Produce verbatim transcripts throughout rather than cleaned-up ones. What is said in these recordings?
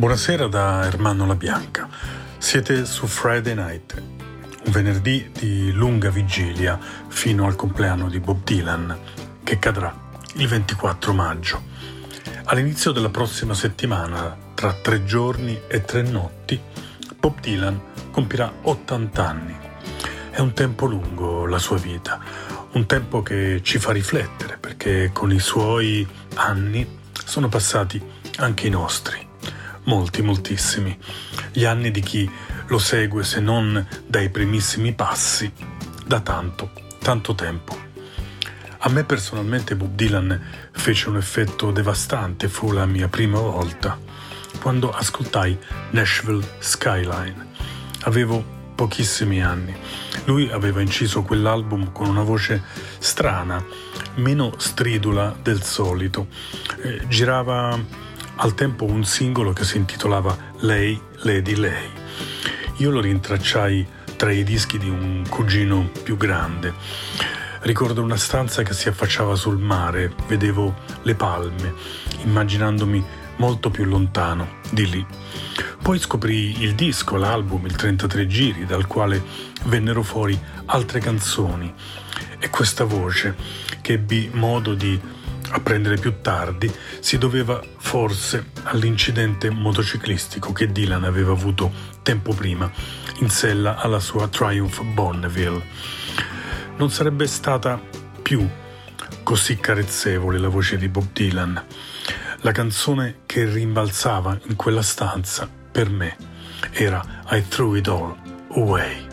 Buonasera da Ermanno La Bianca. Siete su Friday Night, un venerdì di lunga vigilia fino al compleanno di Bob Dylan, che cadrà il ventiquattro maggio. All'inizio della prossima settimana, tra tre giorni e tre notti, Bob Dylan compirà ottanta anni. È un tempo lungo la sua vita, un tempo che ci fa riflettere, perché con i suoi anni sono passati anche i nostri. Molti, moltissimi. Gli anni di chi lo segue, se non dai primissimi passi, da tanto, tanto tempo. A me personalmente Bob Dylan fece un effetto devastante, fu la mia prima volta, quando ascoltai Nashville Skyline. Avevo pochissimi anni. Lui aveva inciso quell'album con una voce strana, meno stridula del solito. Eh, girava al tempo un singolo che si intitolava Lei, Lady Lei. Io lo rintracciai tra i dischi di un cugino più grande. Ricordo una stanza che si affacciava sul mare, vedevo le palme, immaginandomi molto più lontano di lì. Poi scoprì il disco, l'album, il trentatré giri, dal quale vennero fuori altre canzoni. E questa voce, che ebbi modo di apprendere più tardi, si doveva forse all'incidente motociclistico che Dylan aveva avuto tempo prima in sella alla sua Triumph Bonneville. Non sarebbe stata più così carezzevole la voce di Bob Dylan. La canzone che rimbalzava in quella stanza per me era I Threw It All Away.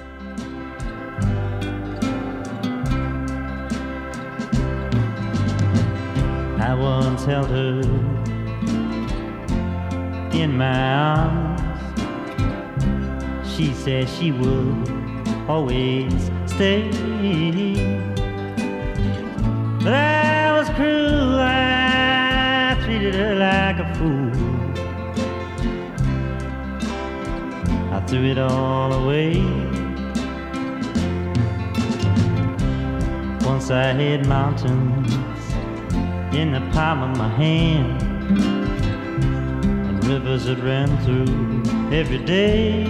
I once held her in my arms. She said she would always stay. But I was cruel, I treated her like a fool. I threw it all away. Once I had mountains in the palm of my hand, and rivers that ran through every day.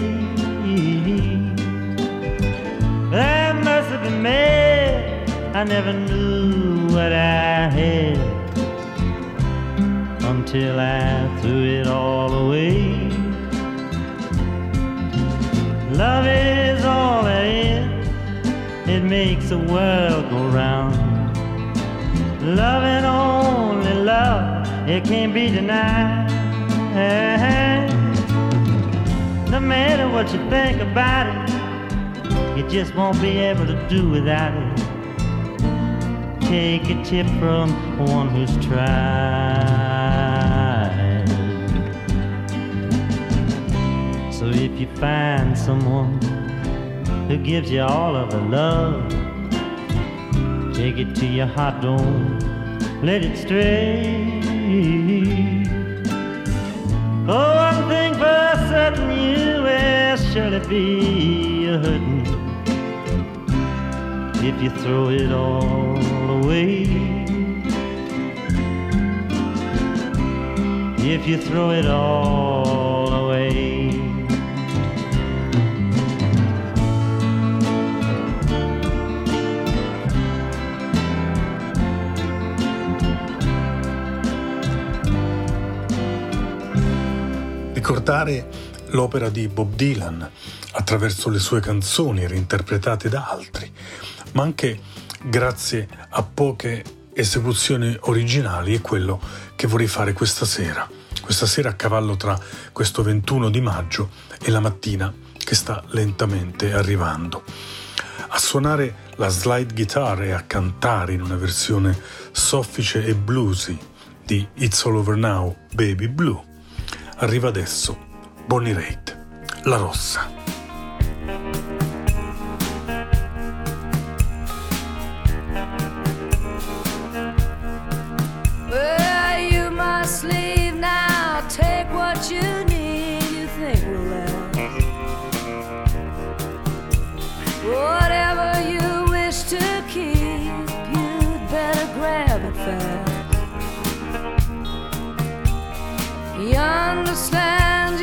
But I must have been mad, I never knew what I had until I threw it all away. Love is all there is, it makes the world go round. Love and only love, it can't be denied. No matter what you think about it, you just won't be able to do without it. Take a tip from one who's tried. So if you find someone who gives you all of the love, take it to your heart, don't let it stray. Oh, one thing for certain, you will surely be a hurting if you throw it all away. If you throw it all away. Ricordare l'opera di Bob Dylan attraverso le sue canzoni reinterpretate da altri, ma anche grazie a poche esecuzioni originali, è quello che vorrei fare questa sera, questa sera a cavallo tra questo ventuno di maggio e la mattina che sta lentamente arrivando. A suonare la slide guitar e a cantare in una versione soffice e bluesy di It's All Over Now, Baby Blue, arriva adesso Bonnie Raitt, La Rossa. Well, you must leave now, take what you need, you think will last. Whatever you wish to keep, you'd better grab it fast. You understand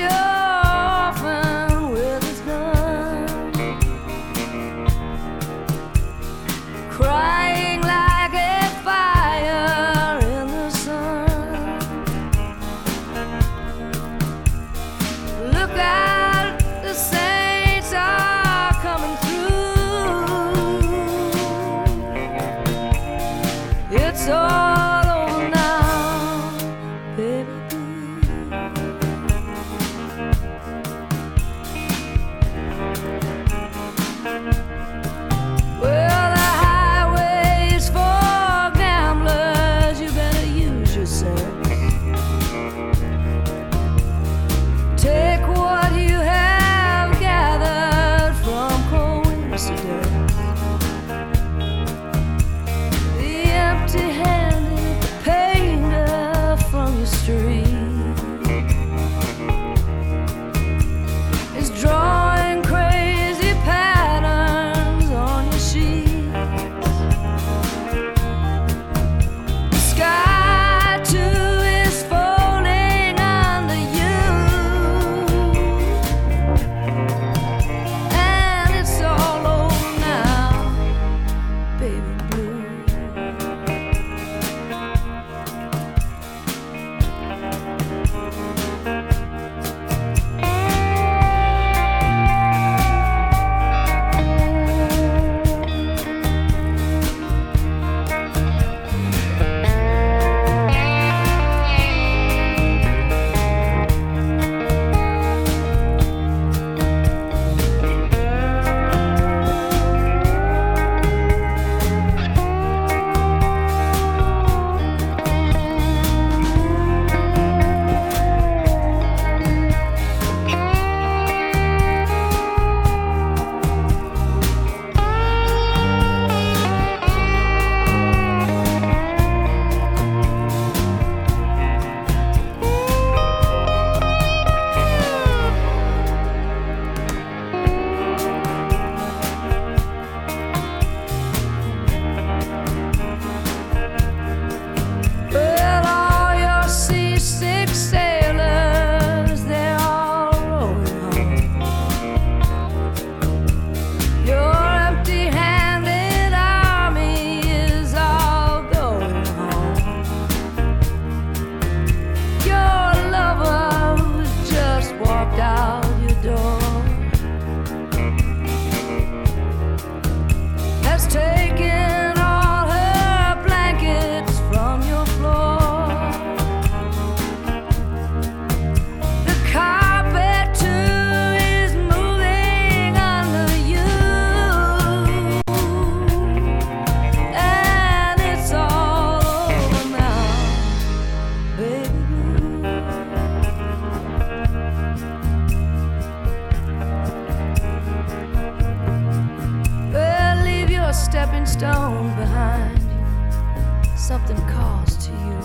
lost to you.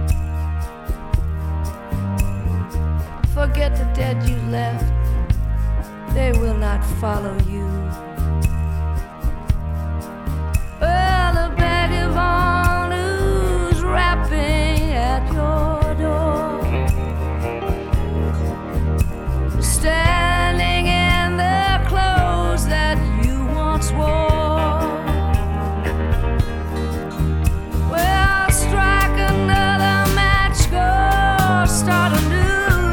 Forget the dead you left, they will not follow you. Well, the vagabond who's rapping at your door, standing in the clothes that you once wore. Well, strike another match, go start anew.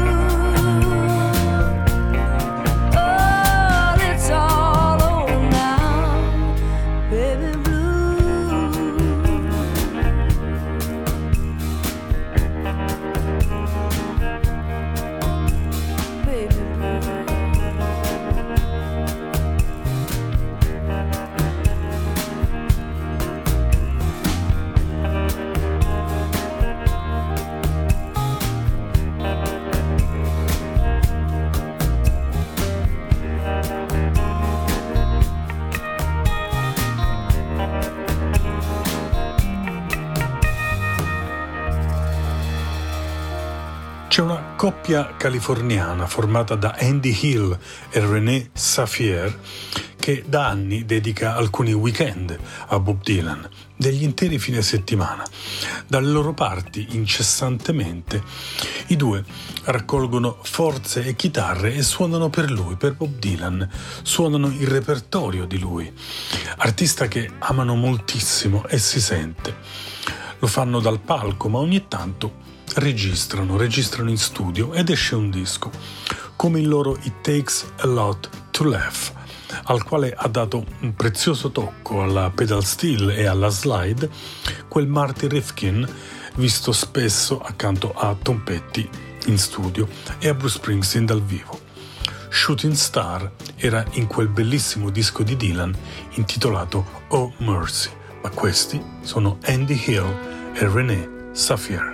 C'è una coppia californiana formata da Andy Hill e René Safier che da anni dedica alcuni weekend a Bob Dylan, degli interi fine settimana. Dalle loro parti, incessantemente, i due raccolgono forze e chitarre e suonano per lui, per Bob Dylan, suonano il repertorio di lui, artista che amano moltissimo e si sente. Lo fanno dal palco, ma ogni tanto registrano, registrano in studio ed esce un disco, come il loro It Takes a Lot to Laugh, al quale ha dato un prezioso tocco alla pedal steel e alla slide quel Marty Rifkin visto spesso accanto a Tom Petty in studio e a Bruce Springsteen dal vivo. Shooting Star era in quel bellissimo disco di Dylan intitolato Oh Mercy, ma questi sono Andy Hill e René Safier.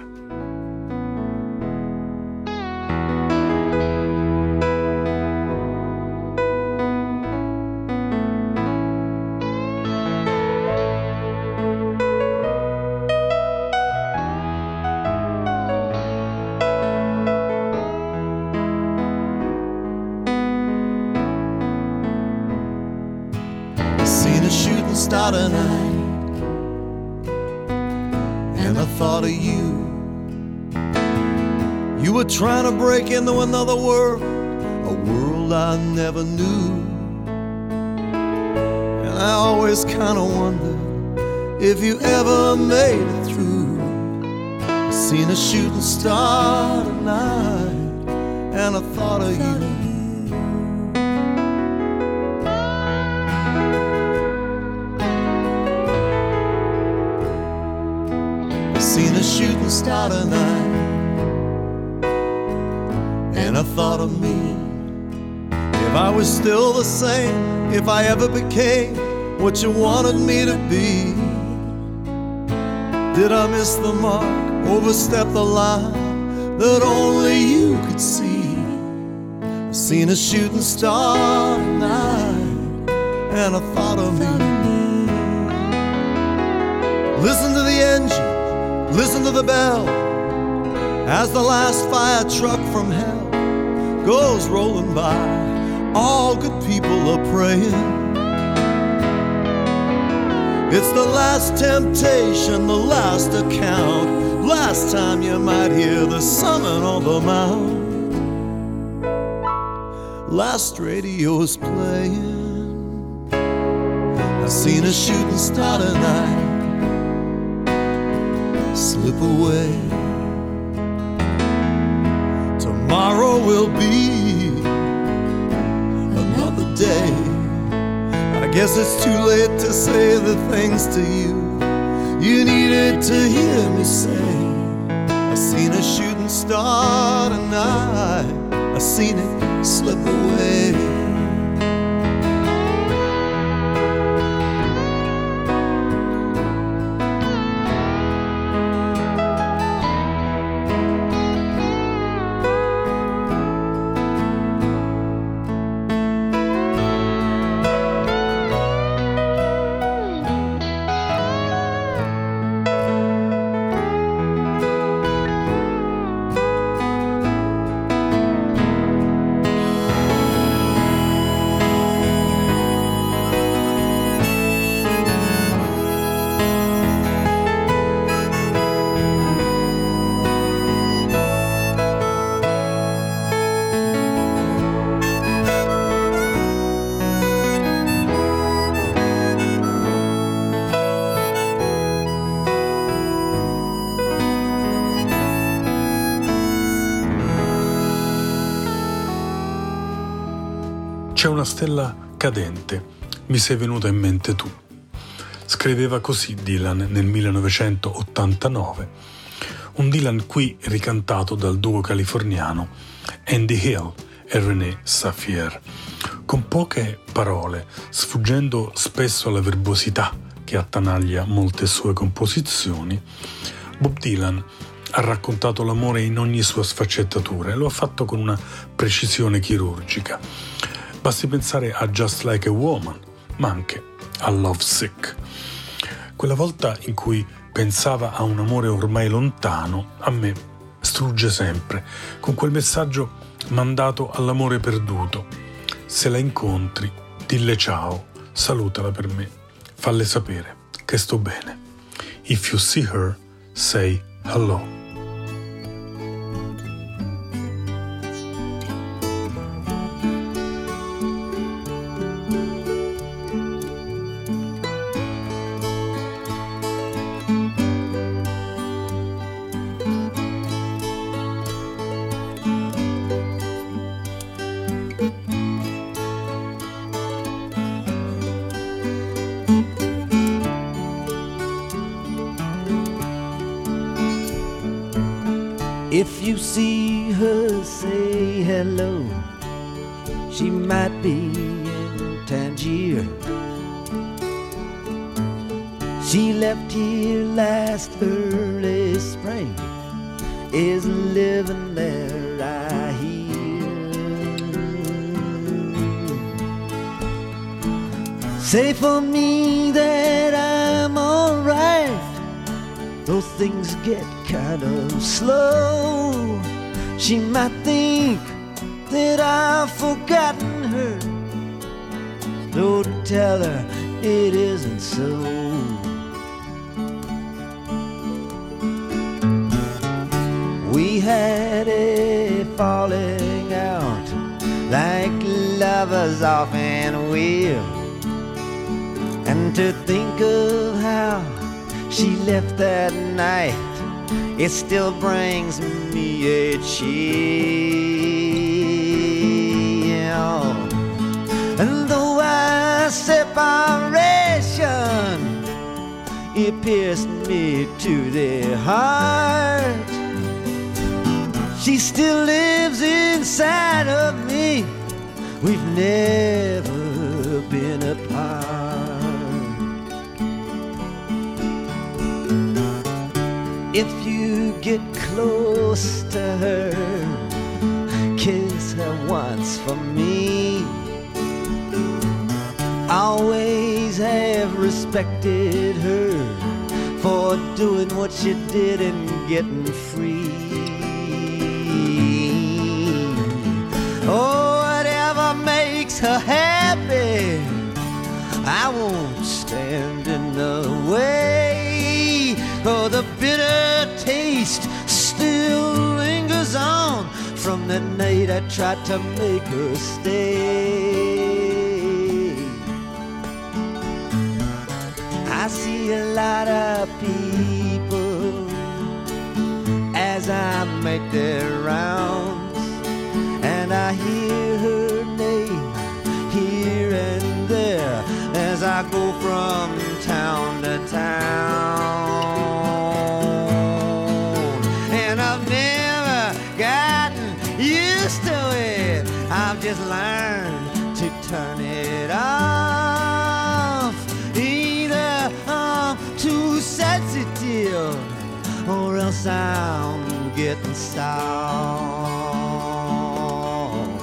Star tonight, and I thought of you. You were trying to break into another world, a world I never knew. And I always kind of wondered if you ever made it through. I seen a shooting star tonight, and I thought of you. Seen a shooting star tonight, and I thought of me. If I was still the same, if I ever became what you wanted me to be. Did I miss the mark, overstep the line that only you could see? I seen a shooting star tonight, and I thought of me. Listen to the engine, listen to the bell, as the last fire truck from hell goes rolling by. All good people are praying. It's the last temptation, the last account, last time you might hear the summon on the mount. Last radio's playing. I seen a shooting star tonight slip away. Tomorrow will be another day. I guess it's too late to say the things to you you needed to hear me say. I seen a shooting star tonight, I seen it slip away. C'è una stella cadente, mi sei venuta in mente tu. Scriveva così Dylan nel millenovecentottantanove, un Dylan qui ricantato dal duo californiano Andy Hill e René Safier, con poche parole, sfuggendo spesso alla verbosità che attanaglia molte sue composizioni. Bob Dylan ha raccontato l'amore in ogni sua sfaccettatura e lo ha fatto con una precisione chirurgica. Basti pensare a Just Like a Woman, ma anche a Love Sick. Quella volta in cui pensava a un amore ormai lontano, a me strugge sempre con quel messaggio mandato all'amore perduto. Se la incontri, dille ciao, salutala per me, falle sapere che sto bene. If you see her, say hello. If you see her, say hello. She might be in Tangier. She left here last early spring, is living there, I hear. Say for me that I'm alright, though things get kind of slow. She might think that I've forgotten her, so tell her it isn't so. We had a falling out, like lovers often will, and to think of how she left that night, it still brings me a chill. And though our separation, it pierced me to the heart, she still lives inside of me. We've never been apart. If you get close to her, kiss her once for me. Always have respected her for doing what she did and getting free. Oh, whatever makes her happy, I won't stand in the way. Oh, the bitter taste still lingers on from the night I tried to make her stay. I see a lot of people as I make their rounds, and I hear her name here and there as I go from town to town. And I've never gotten used to it, I've just learned to turn it off. Either I'm too sensitive or else I'm getting soft.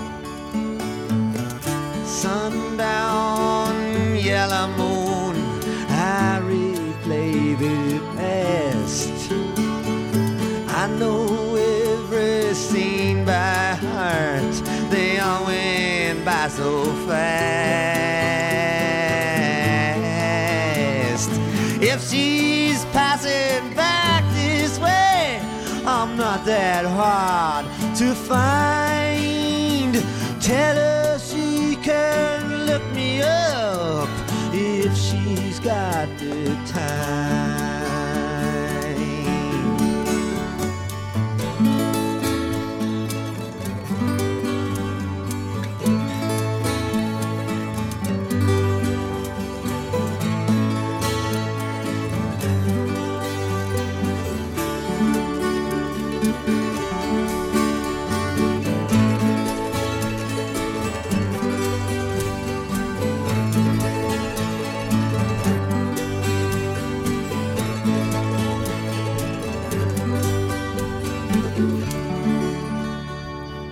Sundown, yellow moon, I replay the past. I know every scene by heart, they all went by so fast. If she's passing back this way, I'm not that hard to find. Tell her she can look me up if she's got the time.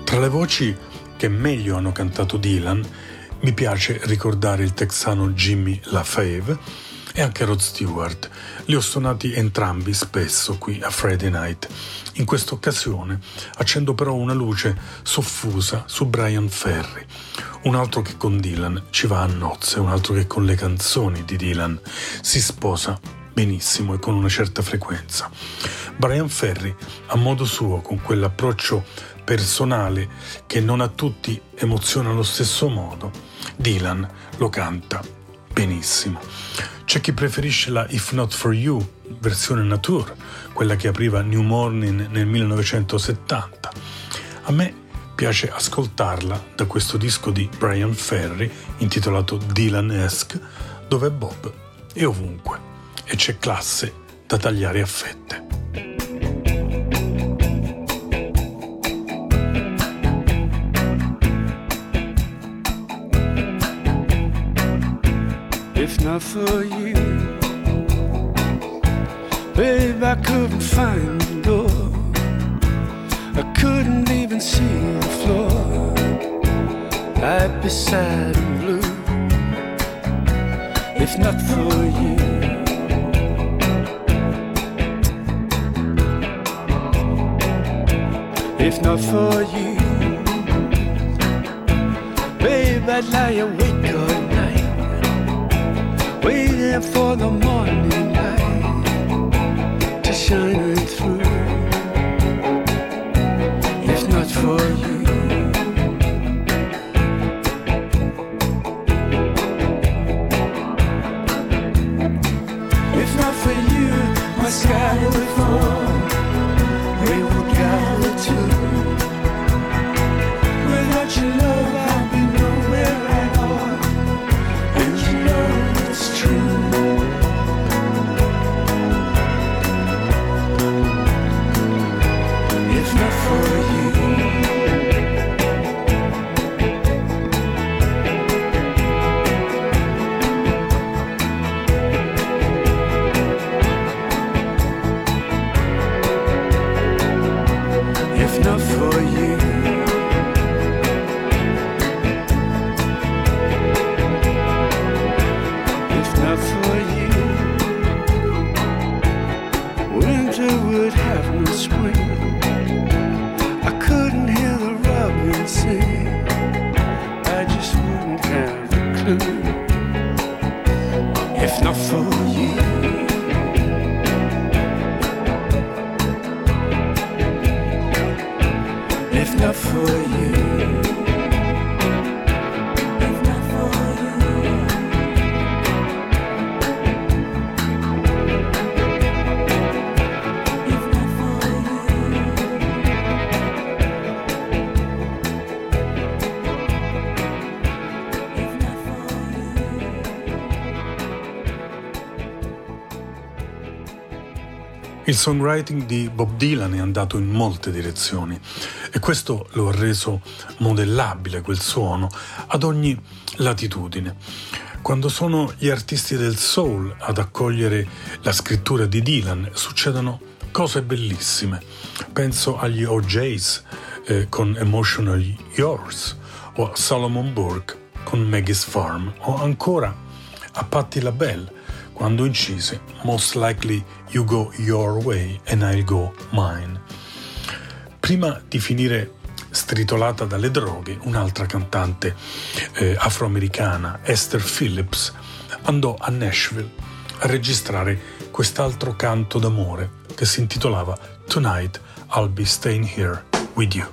Tra le voci che meglio hanno cantato Dylan, mi piace ricordare il texano Jimmy LaFave e anche Rod Stewart. Li ho suonati entrambi spesso qui a Friday Night. In questa occasione accendo però una luce soffusa su Bryan Ferry, un altro che con Dylan ci va a nozze, un altro che con le canzoni di Dylan si sposa benissimo e con una certa frequenza. Bryan Ferry, a modo suo, con quell'approccio personale che non a tutti emoziona allo stesso modo, Dylan lo canta benissimo. C'è chi preferisce la If Not For You, versione Nature, quella che apriva New Morning nel millenovecentosettanta. A me piace ascoltarla da questo disco di Bryan Ferry intitolato Dylan-esque, dove Bob è ovunque e c'è classe da tagliare a fette. If not for you, babe, I couldn't find the door. I couldn't even see the floor. I'd be sad and blue. If not for you, if not for you, babe, I'd lie awake all night, waiting for the morning light to shine through. If not for you, if not for you, my sky would fall, we would gather too. Without your love, I'd be nowhere at all, and you know it's true. If not for you, if not for you, if not for you, winter would have no spring. I couldn't hear the robin sing, I just wouldn't have a clue. If not for you, if not for you, if not for you, if not for you, if not for you. Il songwriting di Bob Dylan è andato in molte direzioni e questo lo ha reso modellabile quel suono ad ogni latitudine. Quando sono gli artisti del soul ad accogliere la scrittura di Dylan succedono cose bellissime. Penso agli O J's eh, con Emotionally Yours o a Solomon Burke con Maggie's Farm o ancora a Patti LaBelle quando incise Most Likely You Go Your Way and I'll Go Mine. Prima di finire stritolata dalle droghe, un'altra cantante eh, afroamericana, Esther Phillips, andò a Nashville a registrare quest'altro canto d'amore che si intitolava Tonight I'll Be Staying Here With You.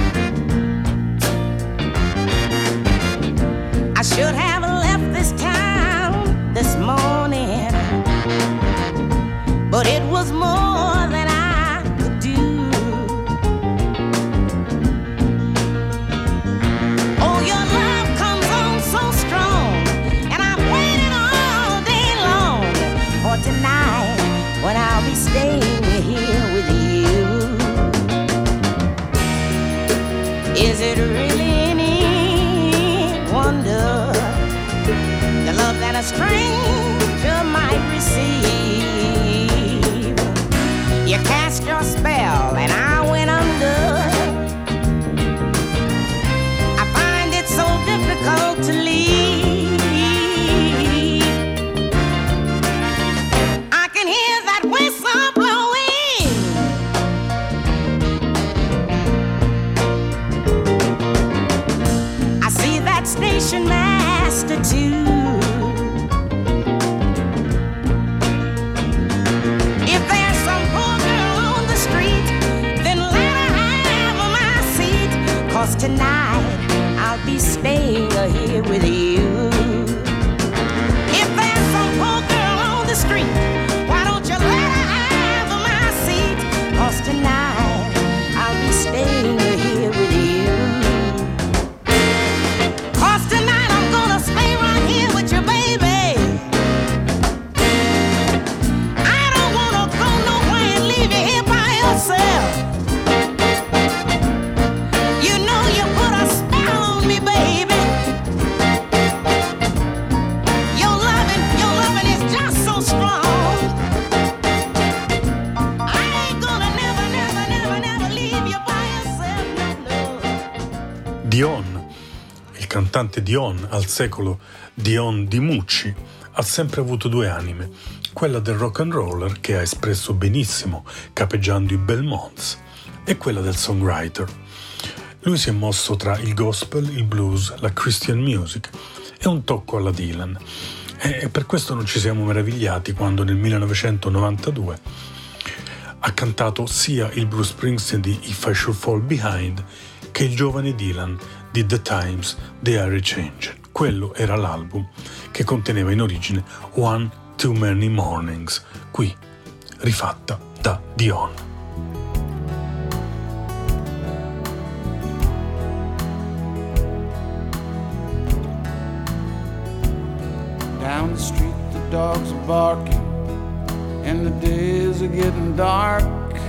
Should have left this time but it was more than I could do. Oh, your love comes on so strong, and I've waited all day long for tonight when I'll be staying here with you. Is it really any wonder the love that a stranger might receive? You cast your spell and I went under. I find it so difficult to leave. I can hear that whistle blowing. I see that station master too. If there's some poor girl on the street, then let her have my seat, 'cause tonight I'll be staying here with you. If there's some poor girl on the street, why don't you let her have my seat, 'cause tonight I'll be staying here with you. 'Cause tonight I'm gonna stay right here with you, baby. I don't wanna go nowhere and leave you here by yourself. You know you put a spell on me, baby. Your loving, your loving is just so strong. I ain't gonna never, never, never, never leave you by yourself, no, no. Dion, il cantante Dion, al secolo Dion Di Mucci, ha sempre avuto due anime, quella del rock and roller che ha espresso benissimo capeggiando i Belmonts e quella del songwriter. Lui si è mosso tra il gospel, il blues, la Christian music e un tocco alla Dylan, e per questo non ci siamo meravigliati quando nel millenovecentonovantadue ha cantato sia il Bruce Springsteen di If I Should Fall Behind che il giovane Dylan di The Times They Are Changing. Quello era l'album che conteneva in origine One Too Many Mornings, qui rifatta da Dion. Down the street the dogs are barking and the days are getting dark,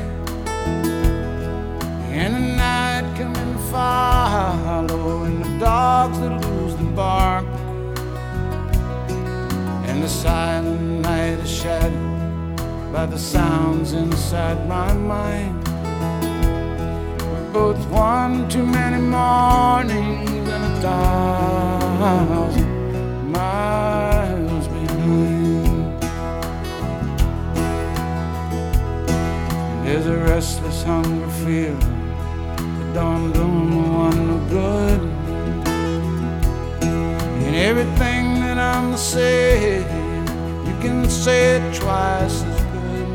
and the night coming follow and the dogs that lose the bark, and the silent night is shadowed by the sounds inside my mind. We're both one too many mornings and a thousand miles behind. There's a restless hunger feeling that don't do no one no good, and everything that I'm saying, you can say it twice as good.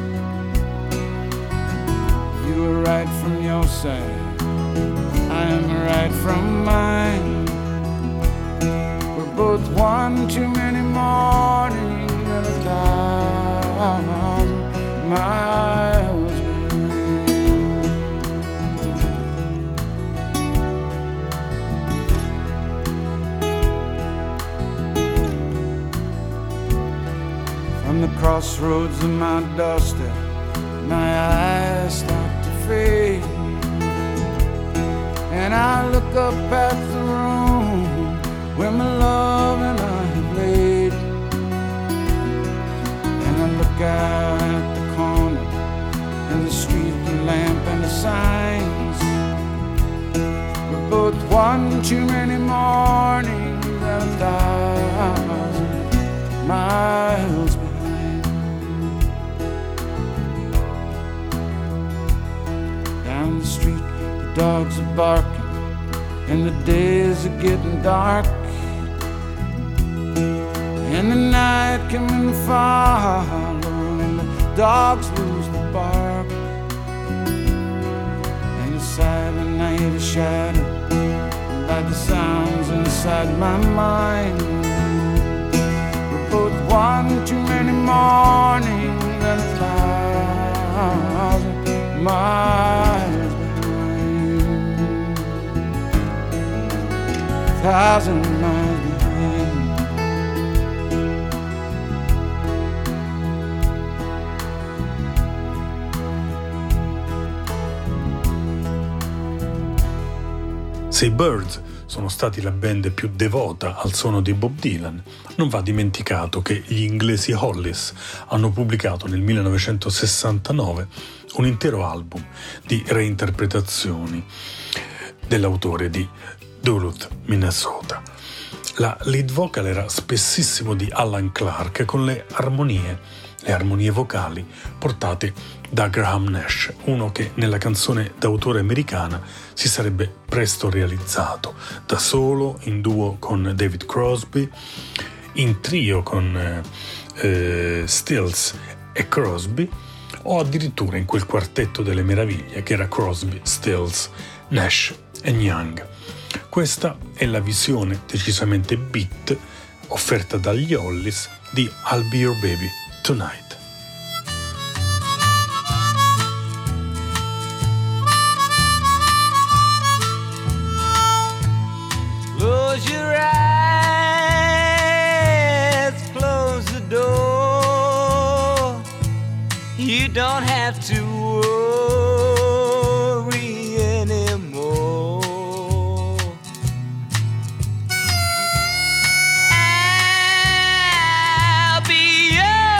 You were right from your side, I am right from mine. We're both one too many mornings and a thousand miles behind. From the crossroads of my doorstep, my eyes start to fade, and I look up at the room where my love and I have laid, and I look out at the corner and the street, the lamp and the signs. We're both one too many mornings and a thousand miles behind. Down the street the dogs are barking and the days are getting dark, and the night coming follow and the dogs lose the bark, and the silent night is shadowed by the sounds inside my mind. We're both one too many mornings and a miles behind, thousand miles behind. Se i Byrds sono stati la band più devota al suono di Bob Dylan, non va dimenticato che gli inglesi Hollies hanno pubblicato nel millenovecentosessantanove un intero album di reinterpretazioni dell'autore di Duluth, Minnesota. La lead vocal era spessissimo di Alan Clark con le armonie, le armonie vocali portate da Graham Nash, uno che nella canzone d'autore americana si sarebbe presto realizzato, da solo, in duo con David Crosby, in trio con eh, Stills e Crosby, o addirittura in quel quartetto delle meraviglie che era Crosby, Stills, Nash e Young. Questa è la visione decisamente beat offerta dagli Hollies di I'll Be Your Baby Tonight. Close your eyes, close the door. You don't have to worry anymore. I'll be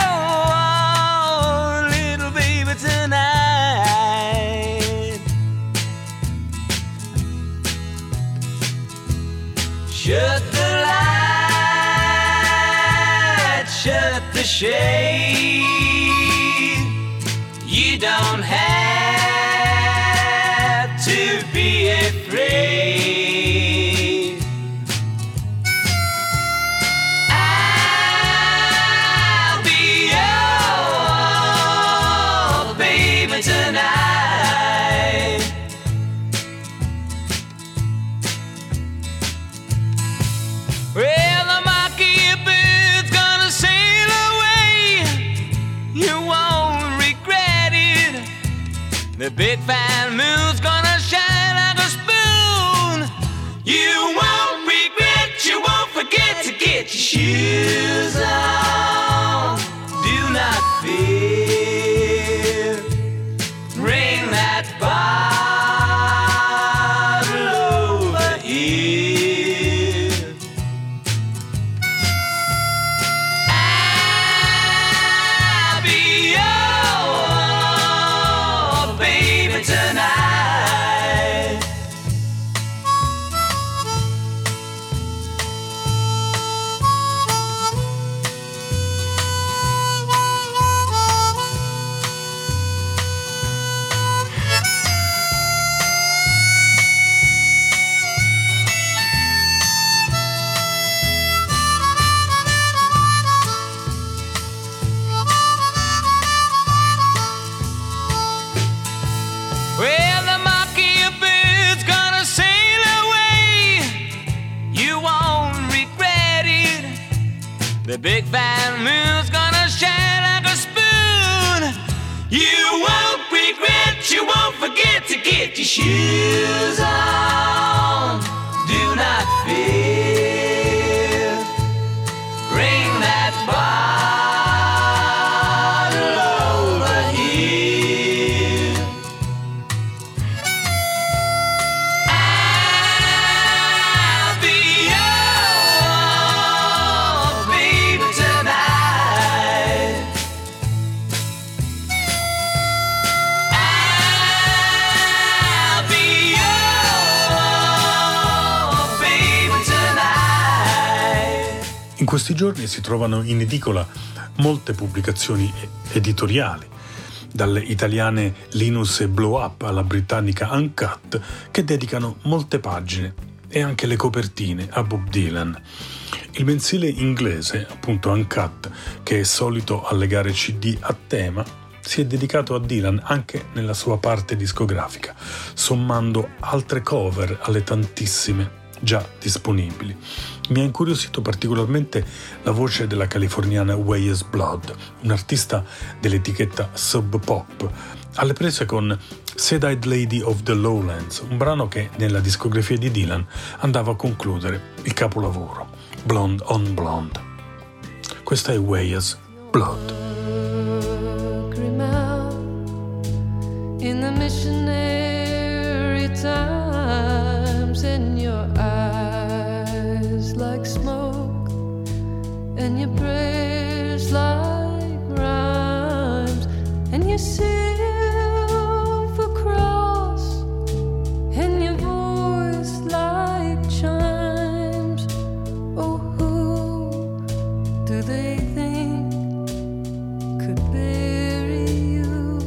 your little baby tonight. Shut the light, shut the shade. You don't have to be afraid. I'll be your baby tonight. Well, the monkey-bird's gonna sail away. You won't regret it. The big fat moon's gonna shine like a spoon. You won't regret, you won't forget to get your shoes on. Do not fear. Ring that bottle over here. I'll be your baby tonight. Well, the monkey-bird's gonna sail away. You won't regret it. The big fat moon's gonna shine like a spoon. You won't regret, you won't forget to get your shoes on. Do not fear. Bring that bottle over here. I'll be your baby tonight. I'll be your baby tonight. In questi giorni si trovano in edicola molte pubblicazioni editoriali, dalle italiane Linus e Blow Up alla britannica Uncut, che dedicano molte pagine e anche le copertine a Bob Dylan. Il mensile inglese, appunto Uncut, che è solito allegare C D a tema, si è dedicato a Dylan anche nella sua parte discografica, sommando altre cover alle tantissime già disponibili. Mi ha incuriosito particolarmente la voce della californiana Weyes Blood, un'artista dell'etichetta Sub Pop, alle prese con Sad-Eyed Lady of the Lowlands, un brano che nella discografia di Dylan andava a concludere il capolavoro, Blonde on Blonde. Questa è Weyes Blood. In the missionary times, and your eyes like smoke, and your prayers like rhymes, and your silver cross, and your voice like chimes. Oh, who do they think could bury you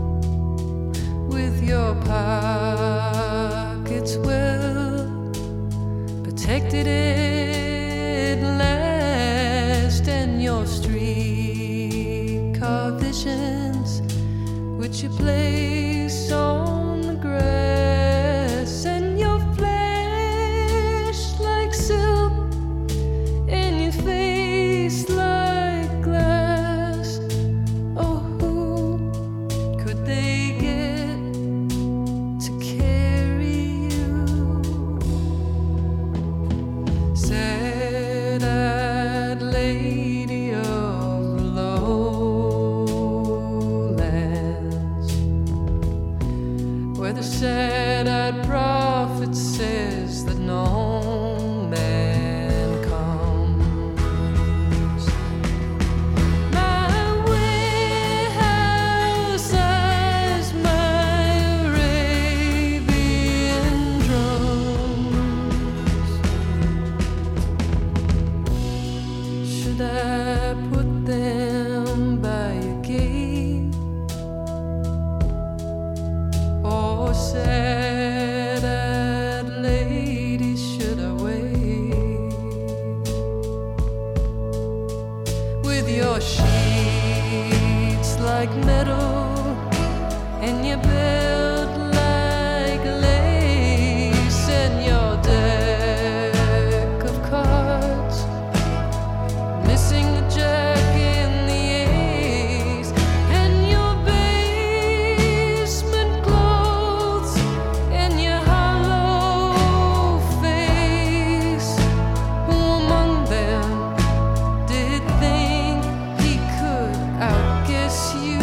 with your pockets well protected at last, and your streetcar visions which you place on the grass, and your flesh like silk, and your face like glass. Oh, who could they get to carry you? Sad-eyed lady of the lowlands, where the sad-eyed prophet says that no man comes. My warehouse eyes, my Arabian drums. Should I put them by your gate, or sad-eyed lady, should I wait with your sheets like metal and your belt like lace, and your deck of cards missing the jack and the ace, and your basement clothes and your hollow face? Who among them did think he could outguess you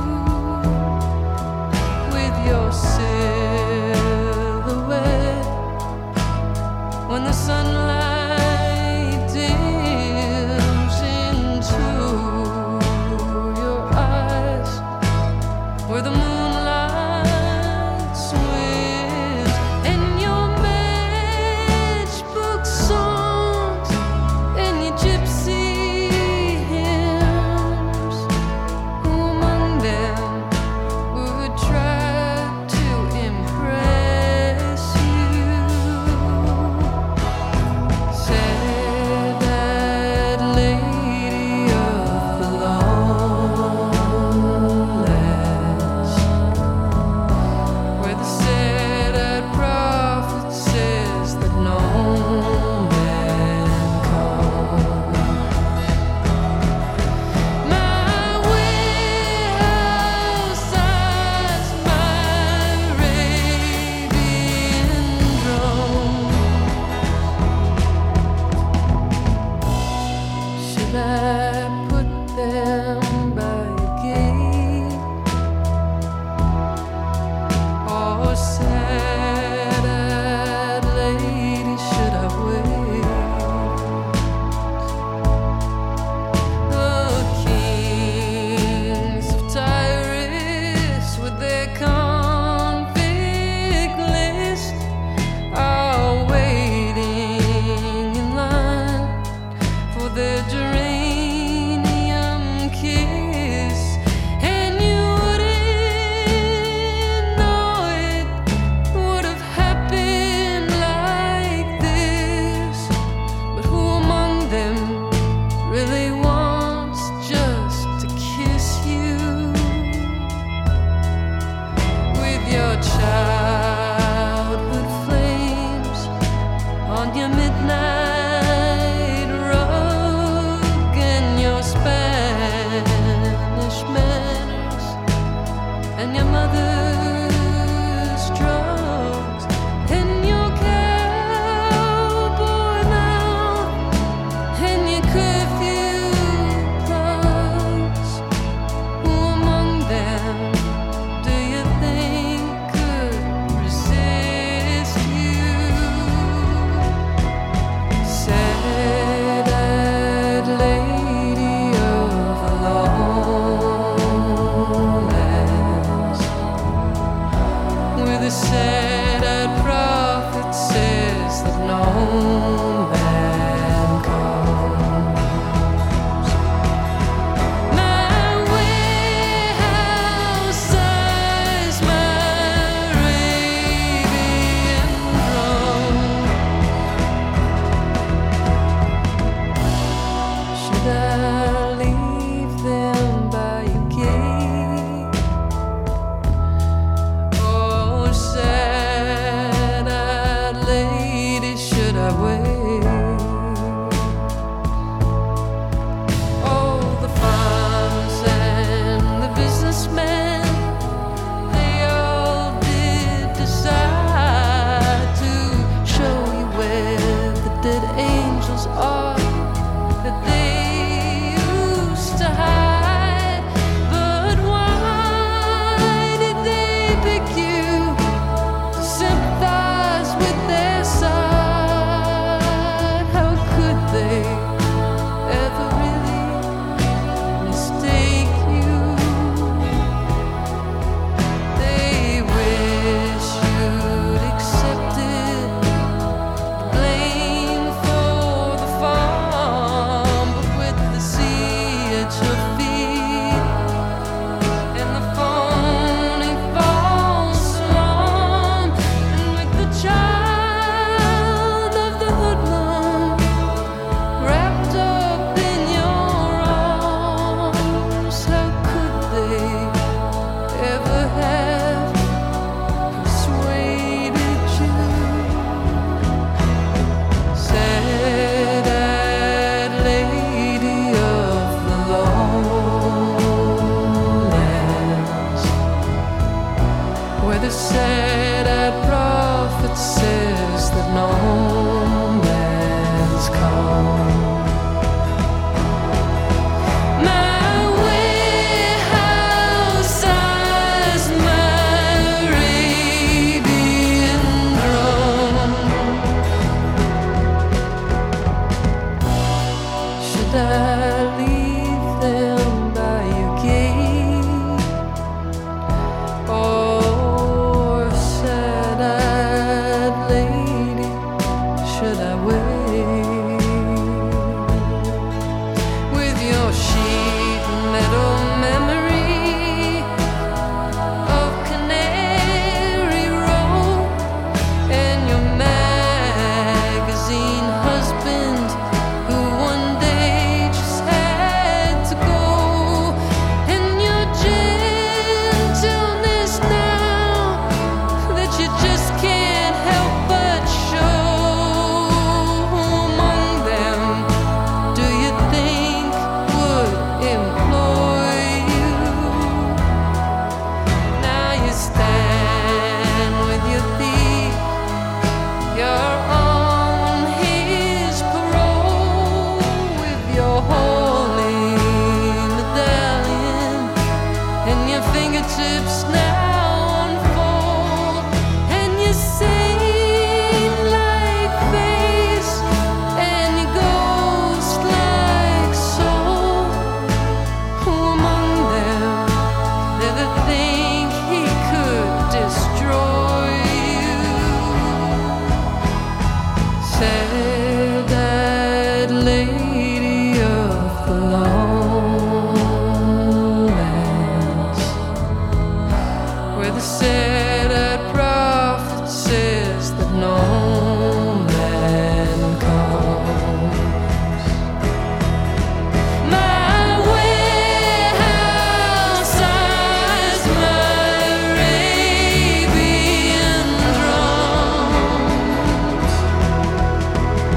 with your silhouette when the sunlight dims into your eyes, where the moonlight swims, and your matchbook songs and your gypsy hymns? Who among them would try to impress you? midnight rug and your Spanish manners and your mother's drugs and your cowboy mouth and your curfew plugs. Who among them do you think could resist you? Sad-eyed lady of the lowlands, where the sad-eyed prophet says that no man comes. My warehouse size, my Arabian drum. Should I leave them by your gate? Oh, sad-eyed lady, should I wait? Oh, the farmers and the businessmen, they all did decide to show you where the dead angels are that they used to hide. But why did they pick you to sympathize with their side? How could they ever really mistake you? They wish you'd accepted blame for the farm, but with the sea at your feet and the phony false alarm, and with the child of the hoodlum wrapped up in your arms, how could they ever have persuaded you? Sad-eyed lady of the lowlands, where the sad-eyed prophet says that no man's come. My warehouse size, my Arabian drum. Should I leave them by your gate? Or sad-eyed lady, should I wait? With your sheet metal memory of Canary Row and your magazine husband who one day just had to go, and your gentleness now that you just can't help but show. Who among them do you think would employ you? Now you stand with your thief, you're on his parole, with your holy medallion and your fingertips now unfold, and your saint-like face and your ghost-like soul. Who among them did they think he could destroy you? Sad-eyed lady of the lowlands, where the sad-eyed prophet says that no man comes. My warehouse size, my Arabian drums.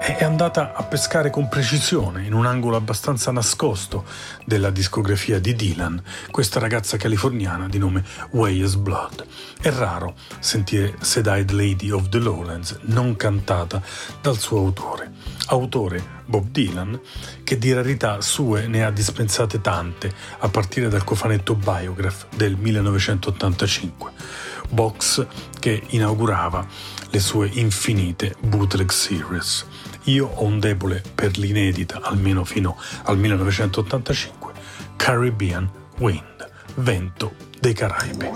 è andata a pescare con precisione in un angolo abbastanza nascosto della discografia di Dylan questa ragazza californiana di nome Weyes Blood. È raro sentire Sad-Eyed Lady of the Lowlands non cantata dal suo autore. Autore Bob Dylan, che di rarità sue ne ha dispensate tante, a partire dal cofanetto Biograph del millenovecentottantacinque, box che inaugurava le sue infinite bootleg series. Io ho un debole per l'inedita, almeno fino al millenovecentottantacinque, Caribbean Wind, vento dei Caraibi.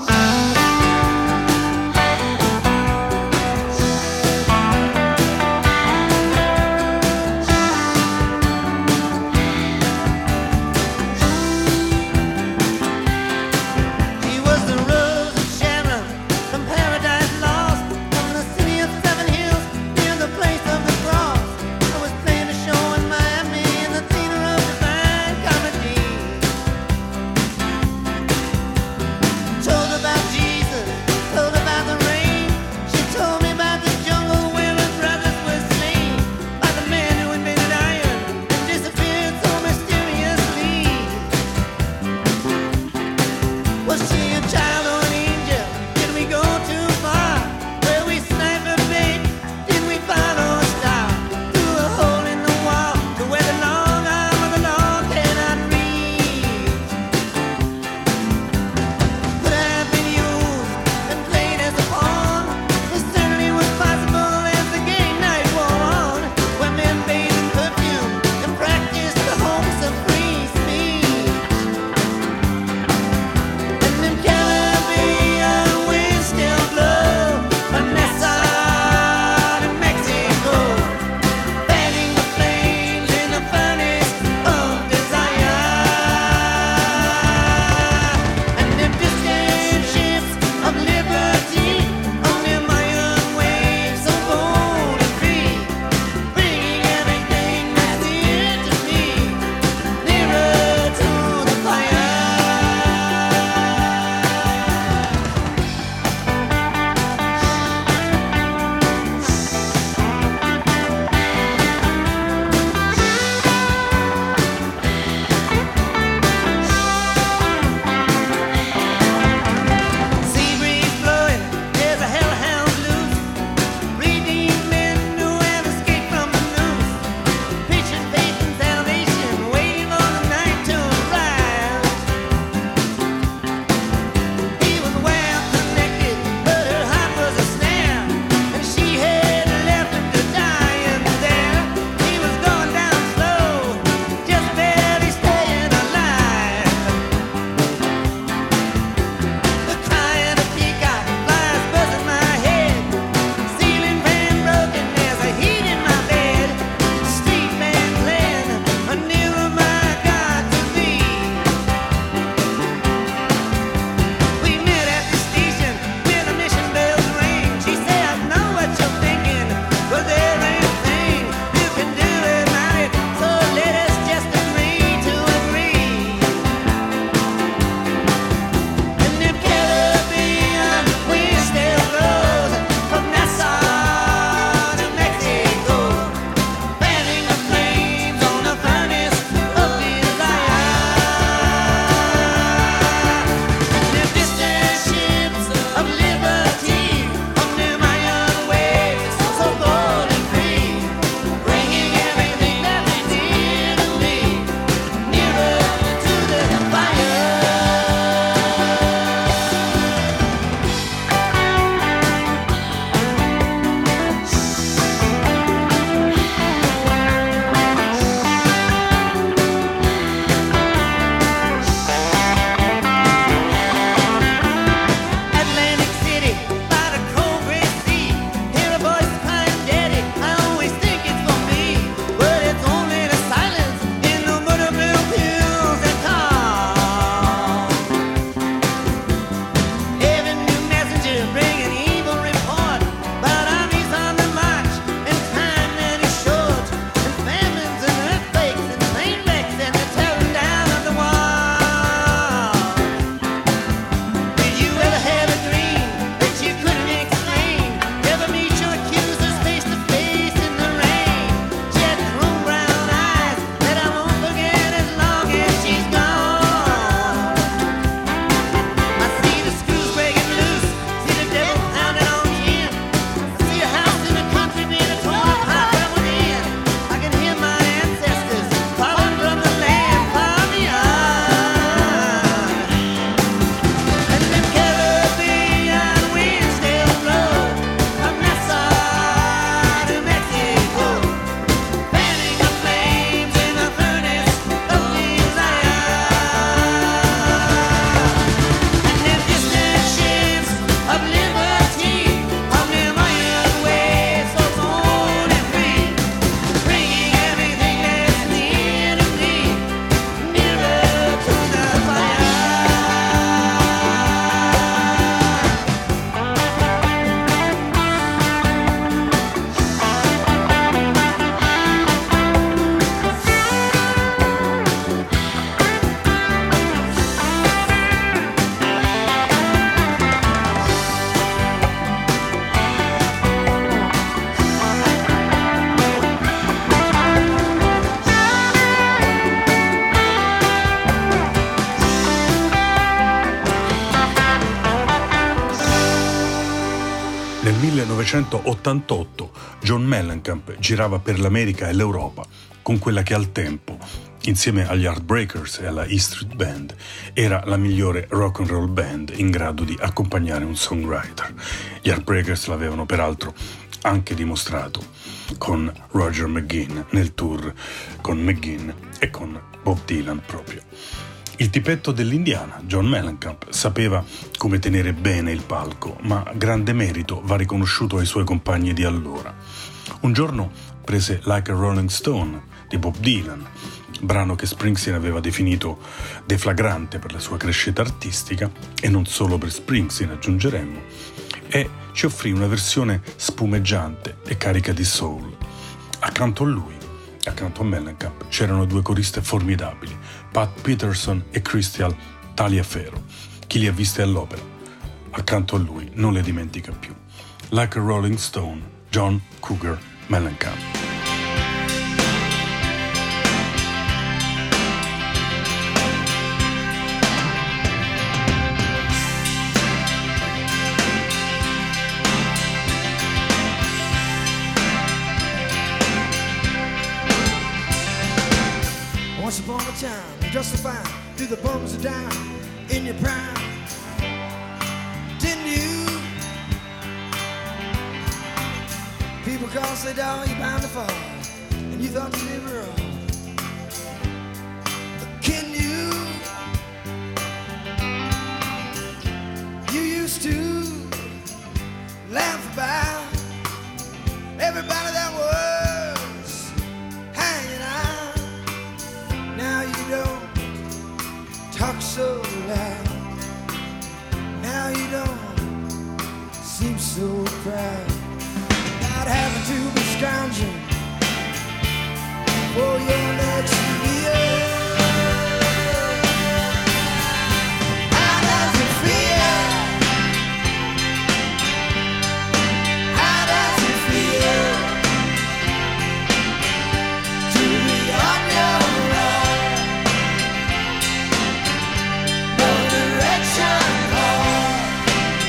Them millenovecentottantotto John Mellencamp girava per l'America e l'Europa con quella che al tempo, insieme agli Heartbreakers e alla E Street Band, era la migliore rock and roll band in grado di accompagnare un songwriter. Gli Heartbreakers l'avevano peraltro anche dimostrato con Roger McGuinn nel tour con McGuinn e con Bob Dylan proprio. Il tipetto dell'Indiana, John Mellencamp, sapeva come tenere bene il palco, ma grande merito va riconosciuto ai suoi compagni di allora. Un giorno prese Like a Rolling Stone di Bob Dylan, brano che Springsteen aveva definito deflagrante per la sua crescita artistica, e non solo per Springsteen, aggiungeremmo, e ci offrì una versione spumeggiante e carica di soul. Accanto a lui, accanto a Mellencamp, c'erano due coriste formidabili, Pat Peterson e Crystal Taliaferro. Chi li ha viste all'opera, accanto a lui, non le dimentica più. Like a Rolling Stone, John Cougar Mellencamp. Once upon a time, justified through the bums of down in your prime. Didn't you? People call, say, dog, you're bound to fall, and you thought you did wrong. But can you? You used to laugh about everybody that was hanging out. Now you don't talk so loud. Now you don't seem so proud about having to be scrounging for your next meal. How does it feel? How does it feel to be on your own? No direction home,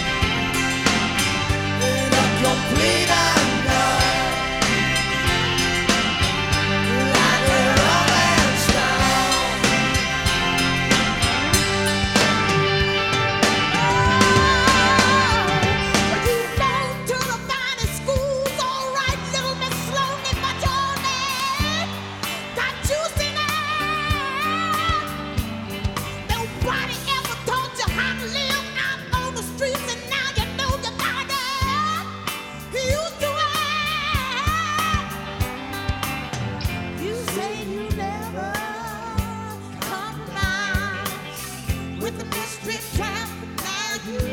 in a complete unknown. Like a rolling stone. But you belong to the finest schools, all right, little Miss Sloane, but your name got juice in it. Nobody ever taught you how to live out on the streets, and now you know you gotta get used to it. You say you never compromise with the mystery trap, but now you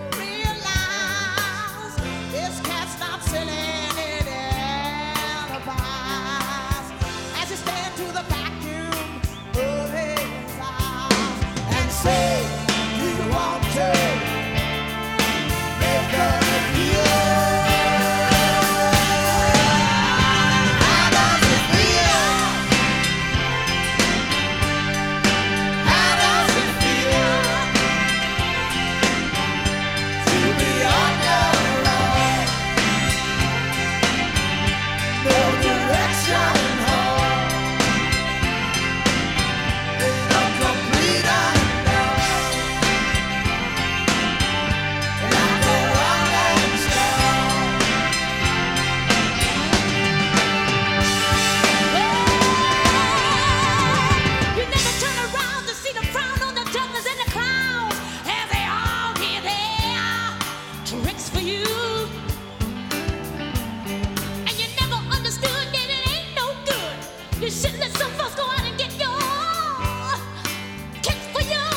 realize this cat's not selling any alibis as you stand to the vacuum of his eyes and say, do you want to make a deal? How does it feel? How does it feel to be on your own? No direction home, in a complete unknown. Like a rolling stone. You never turn around to see the frown on the jugglers and the clowns as they all hear their tricks for you. And you never understood that it ain't no good. You should let some folks go out and get your kicks for you.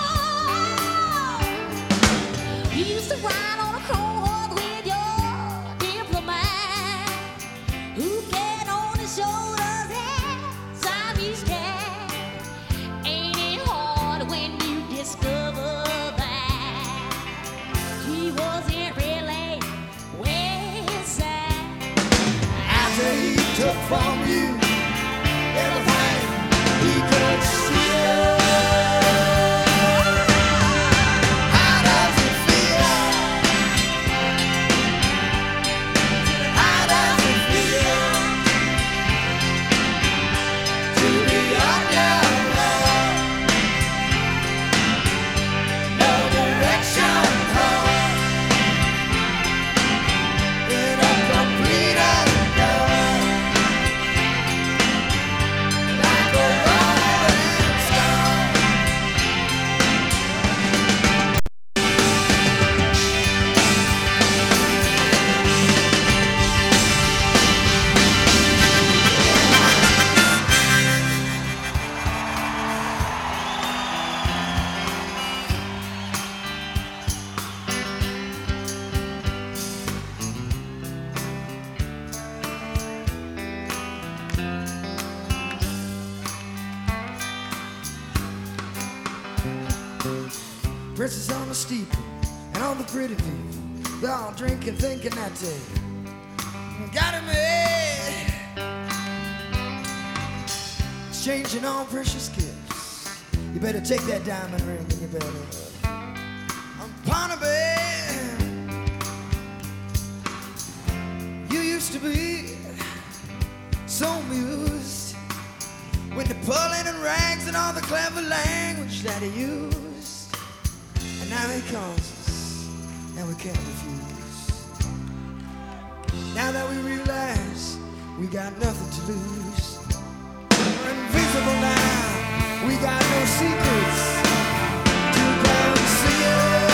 You used to ride on a chrome horse with your diplomat, who get on his shoulders and Siamese cat. Ain't it hard when you discover that he wasn't really West Side? After he took from you everything he could steal. How does it feel? Princess on the steeple, and all the pretty people, they're all drinking, thinking that they got it made. Exchanging all precious gifts. You better take that diamond ring and you better pawn it, babe. You used to be so amused with Napoleon and rags and all the clever language that he used. And now he calls us, and we can't refuse. Now that we realize we got nothing to lose, we're invisible now, we got no secrets to conceal.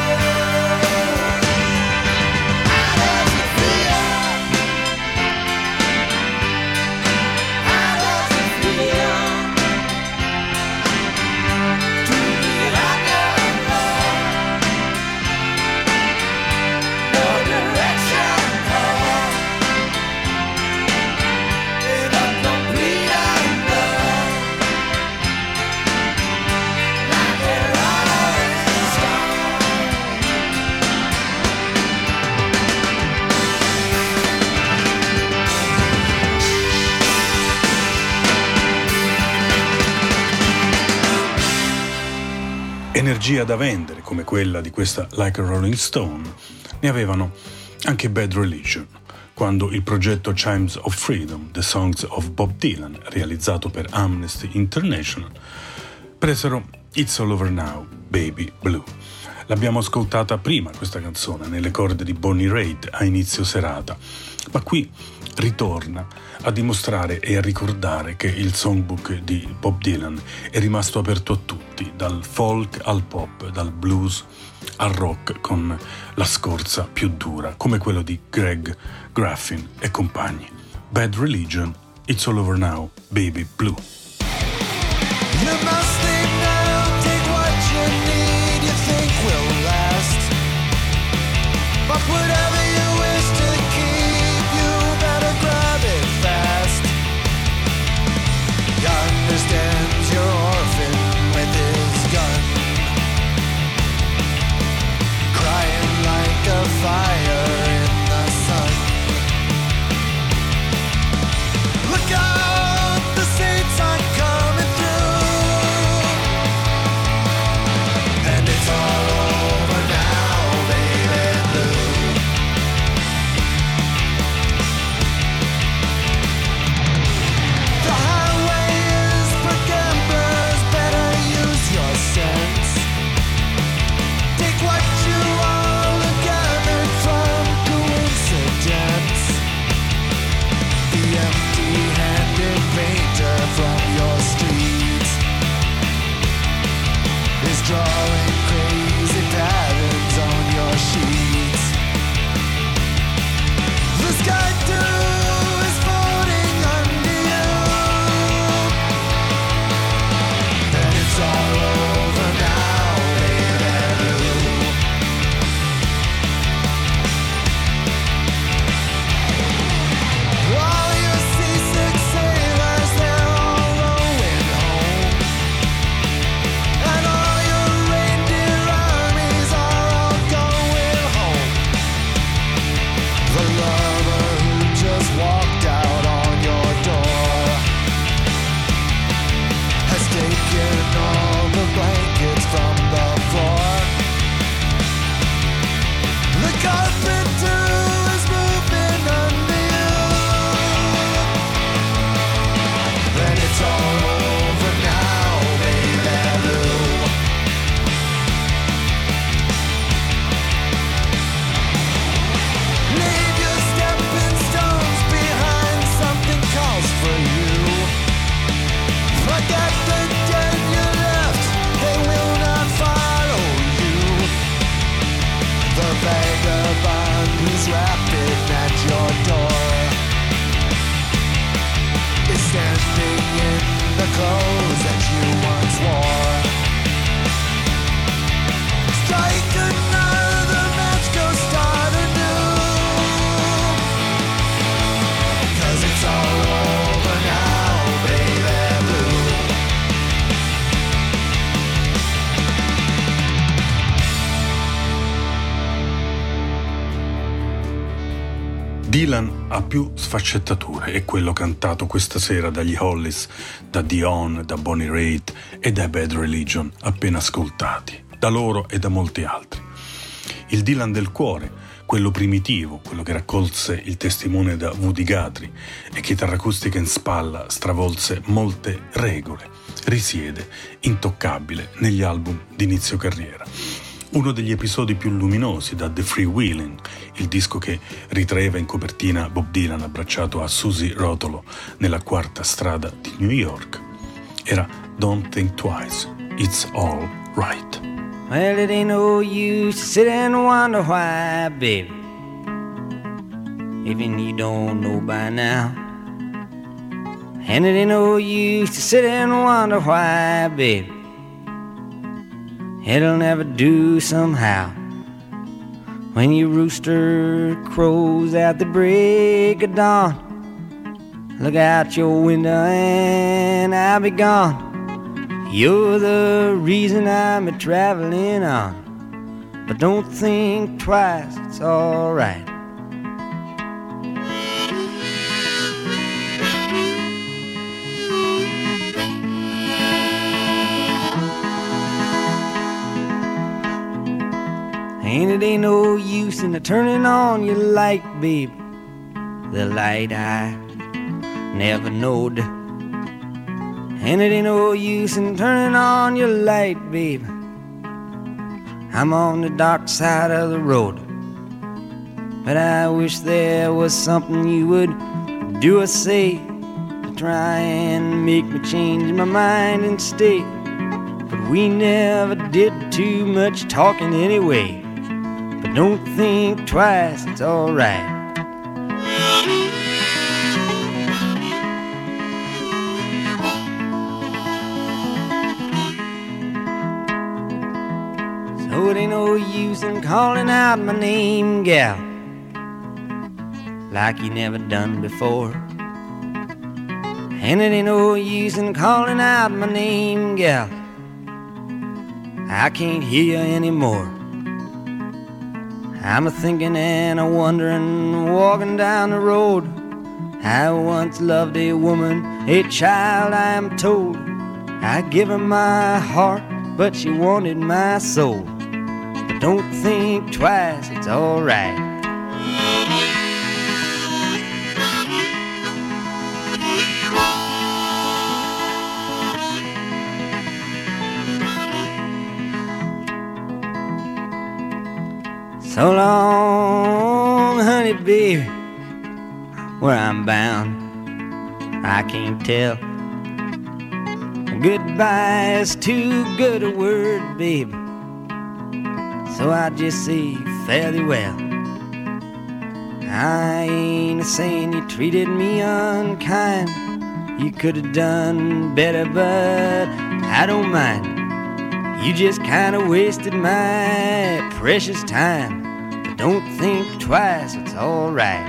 Energia da vendere, come quella di questa Like a Rolling Stone, ne avevano anche Bad Religion, quando il progetto Chimes of Freedom, The Songs of Bob Dylan, realizzato per Amnesty International, presero It's All Over Now, Baby Blue. L'abbiamo ascoltata prima questa canzone nelle corde di Bonnie Raitt a inizio serata, ma qui ritorna a dimostrare e a ricordare che il songbook di Bob Dylan è rimasto aperto a tutti, dal folk al pop, dal blues al rock, con la scorza più dura, come quello di Greg Graffin e compagni. Bad Religion, It's All Over Now, Baby Blue. You must think now, take what you need, you think will last. But whatever you wish to keep, you better grab it fast. He understands your orphan with his gun, crying like a fire in the sun. Look out, the saints are coming through, and it's all over now, baby blue. The highway is for gamblers, better use your sense. Take what you all have gathered from coincidence. The empty-handed painter from your streets is drawing crazy patterns on your sheets. The sky too is floating under you, and it's all over now, baby blue. All your seasick sailors, they're all rowing home, and all your reindeer armies are all going home. The lover who just walked out on your door has taken all the blankets from the floor. The carpet too is moving under you, and it's all over now, baby blue. Leave your stepping stones behind, something calls for you. Forget the dead you left, they will not follow you. The vagabond who's rapping at your door is standing in the clothes that you once wore. Strike another match, go start anew, 'cause it's all over now, baby blue. Dylan ha più sfaccettature, è quello cantato questa sera dagli Hollies, da Dion, da Bonnie Raitt e dai Bad Religion appena ascoltati, da loro e da molti altri. Il Dylan del cuore, quello primitivo, quello che raccolse il testimone da Woody Guthrie e chitarra acustica in spalla stravolse molte regole, risiede intoccabile negli album d'inizio carriera. Uno degli episodi più luminosi da The Freewheelin', il disco che ritraeva in copertina Bob Dylan abbracciato a Susie Rotolo nella quarta strada di New York, era Don't Think Twice, It's All Right. Well, it ain't no use to sit and wonder why, baby, even you don't know by now. And it ain't no use to sit and wonder why, baby, it'll never do somehow. When your rooster crows at the break of dawn, look out your window and I'll be gone. You're the reason I'm a traveling on, but don't think twice, it's alright. And it ain't no use in the turning on your light, babe, the light I never knowed. And it ain't no use in turning on your light, babe, I'm on the dark side of the road. But I wish there was something you would do or say to try and make me change my mind and stay. But we never did too much talking anyway. But don't think twice, it's alright. So it ain't no use in calling out my name, gal, like you never done before. And it ain't no use in calling out my name, gal, I can't hear you anymore. I'm a-thinking and a-wondering, walking down the road. I once loved a woman, a child I am told. I give her my heart, but she wanted my soul. But don't think twice, it's alright. So long, honey, baby, where I'm bound, I can't tell. Goodbye is too good a word, baby, so I just say fare thee well. I ain't a-saying you treated me unkind, you could have done better, but I don't mind. You just kind of wasted my precious time. But don't think twice, it's alright.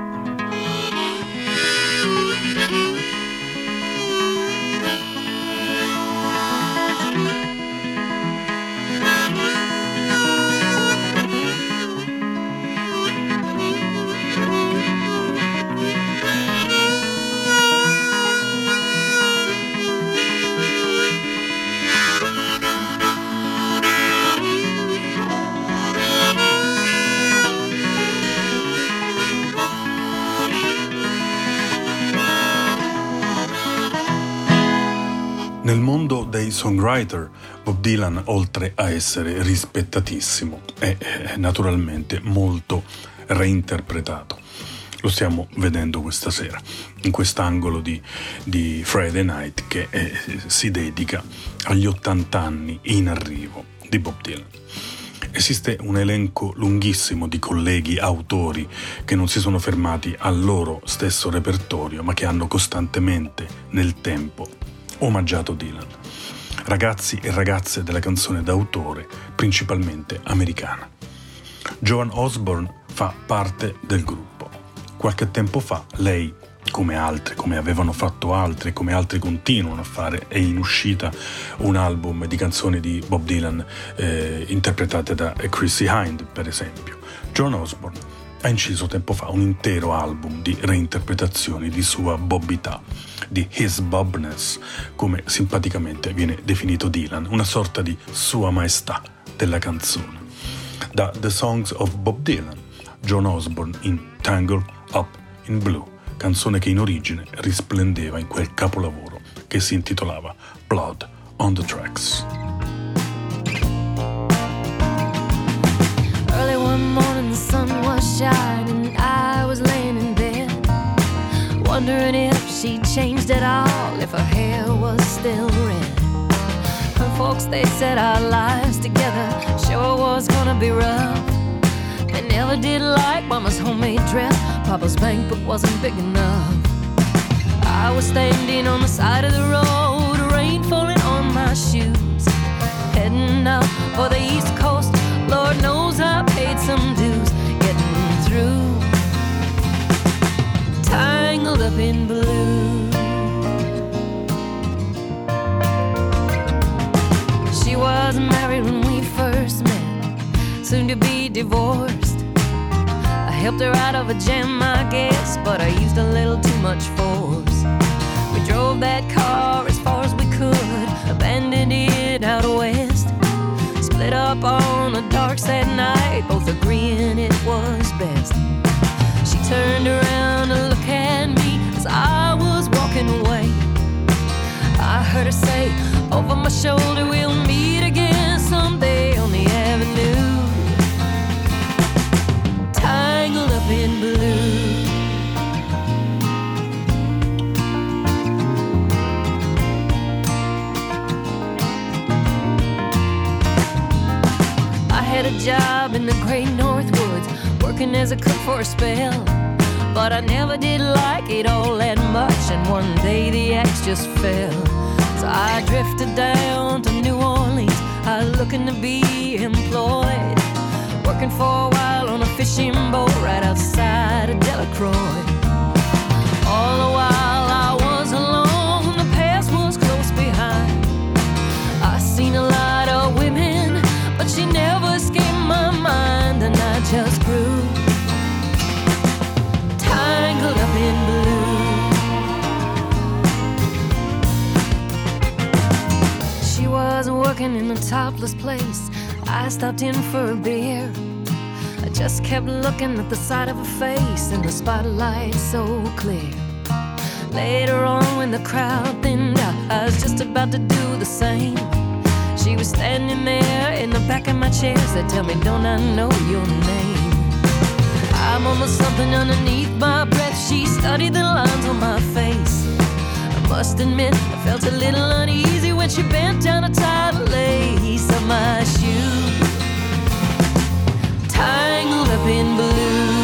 Nel mondo dei songwriter, Bob Dylan, oltre a essere rispettatissimo, è naturalmente molto reinterpretato. Lo stiamo vedendo questa sera, in quest'angolo di, di Friday Night che eh, si dedica agli ottanta anni in arrivo di Bob Dylan. Esiste un elenco lunghissimo di colleghi autori che non si sono fermati al loro stesso repertorio, ma che hanno costantemente, nel tempo, omaggiato Dylan. Ragazzi e ragazze della canzone d'autore, principalmente americana. Joan Osborne fa parte del gruppo. Qualche tempo fa lei, come altri, come avevano fatto altri, come altri continuano a fare, è in uscita un album di canzoni di Bob Dylan eh, interpretate da Chrissie Hynde, per esempio. Joan Osborne ha inciso tempo fa un intero album di reinterpretazioni di sua bobbità, di His Bobness, come simpaticamente viene definito Dylan, una sorta di sua maestà della canzone. Da The Songs of Bob Dylan, John Osborne in Tangled Up in Blue, canzone che in origine risplendeva in quel capolavoro che si intitolava Blood on the Tracks. Early one morning the sun was shining, I was laying in bed, wondering if she changed at all, if her hair was still red. Her folks, they said our lives together sure was gonna be rough. They never did like Mama's homemade dress, Papa's bank book wasn't big enough. I was standing on the side of the road, rain falling on my shoes, heading out for the East Coast. Lord knows I paid some dues getting through, tangled up in blue. She was married when we first met, soon to be divorced. I helped her out of a jam, I guess, but I used a little too much force. We drove that car as far as we could, abandoned it out west, split up on a dark sad night, both agreeing it was best. She turned around to look at me as I was walking away. I heard her say over my shoulder, we'll meet again someday on the avenue, tangled up in blue. I had a job in the great North Woods, working as a cook for a spell, but I never did like it all that much, and one day the axe just fell. So I drifted down to New Orleans, I was looking to be employed, working for a while on a fishing boat right outside of Delacroix. All the while I was alone, the past was close behind. I seen a lot of women, but she never escaped my mind, and I just grew tangled up in blue. She was working in a topless place, I stopped in for a beer. I just kept looking at the side of her face in the spotlight so clear. Later on when the crowd thinned out, I was just about to do the same. She was standing there in the back of my chair, said, tell me, don't I know your name? I mumbled something underneath my breath, she studied the lines on my face. I must admit, I felt a little uneasy when she bent down to tie the lace of my shoe, tangled up in blue.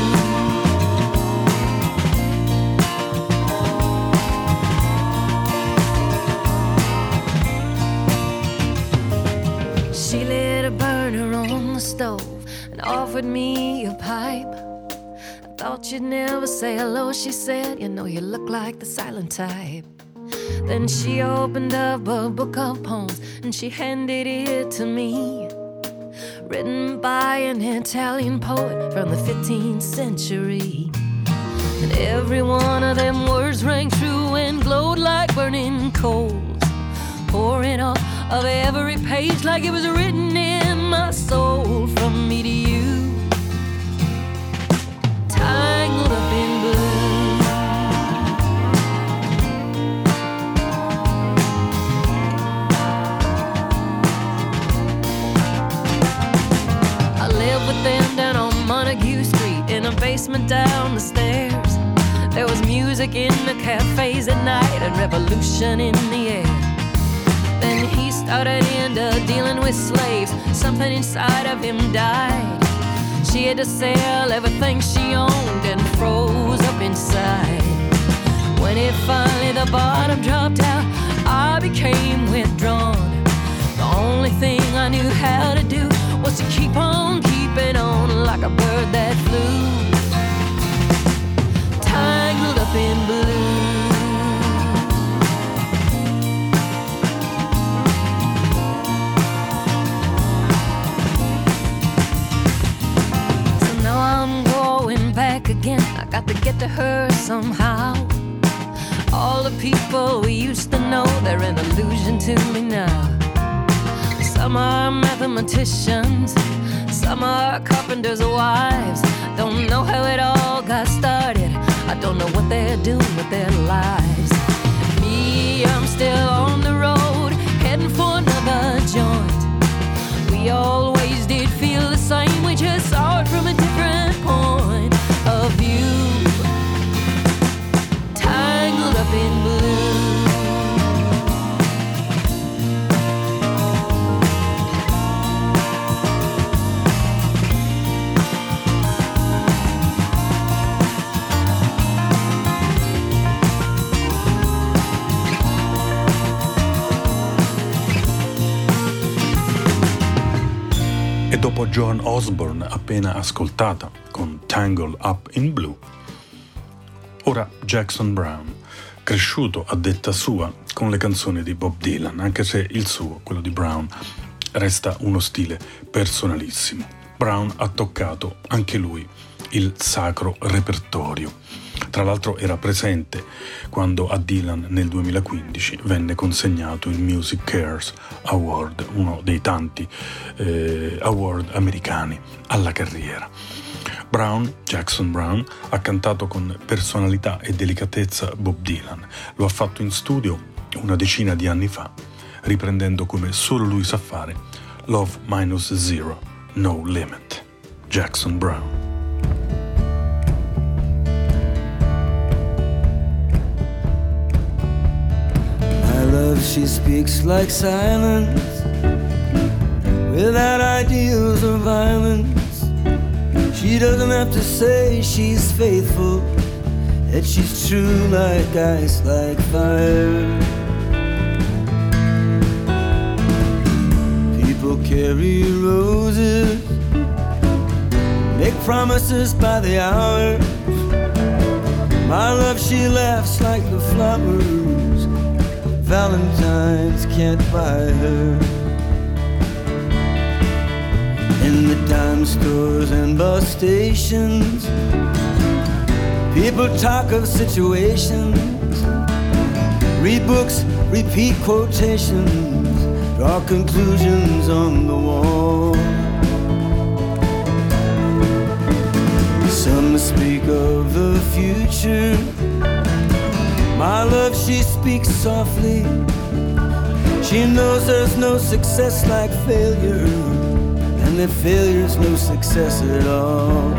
She lit a burner on the stove and offered me a pipe. I thought you'd never say hello, she said, you know you look like the silent type. Then she opened up a book of poems and she handed it to me, written by an Italian poet from the fifteenth century. And every one of them words rang true and glowed like burning coals, pouring off of every page like it was written in my soul, from me to you, tangled up in blue. I lived with them down on Montague Street, in a basement down the stairs. There was music in the cafes at night and revolution in the air. Then he started into dealing with slaves, something inside of him died. She had to sell everything she owned and froze up inside. When it finally the bottom dropped out, I became withdrawn. The only thing I knew how to do was to keep on keeping on like a bird that flew, tangled up in blue. I got to get to her somehow. All the people we used to know, they're an illusion to me now. Some are mathematicians, some are carpenters' wives. Don't know how it all got started, I don't know what they're doing with their lives. Me, I'm still on the road, heading for another joint. We always did feel the same, we just saw it from a different point of view. Tangled up in blue. E dopo Joan Osborne, appena ascoltata con Tangled Up in Blue, ora Jackson Browne, cresciuto a detta sua con le canzoni di Bob Dylan, anche se il suo, quello di Browne, resta uno stile personalissimo. Browne ha toccato anche lui il sacro repertorio. Tra l'altro era presente quando a Dylan nel duemilaquindici venne consegnato il Music Cares Award, uno dei tanti eh, award americani alla carriera. Browne, Jackson Browne, ha cantato con personalità e delicatezza Bob Dylan. Lo ha fatto in studio una decina di anni fa, riprendendo come solo lui sa fare Love Minus Zero, No Limit. Jackson Browne. Love, she speaks like silence, without ideals or violence. She doesn't have to say she's faithful, that she's true like ice, like fire. People carry roses, make promises by the hour. My love, she laughs like the flowers, Valentine's can't buy her. In the dime stores and bus stations, people talk of situations, read books, repeat quotations, draw conclusions on the wall. Some speak of the future, my love, she speaks softly. She knows there's no success like failure, and that failure's no success at all.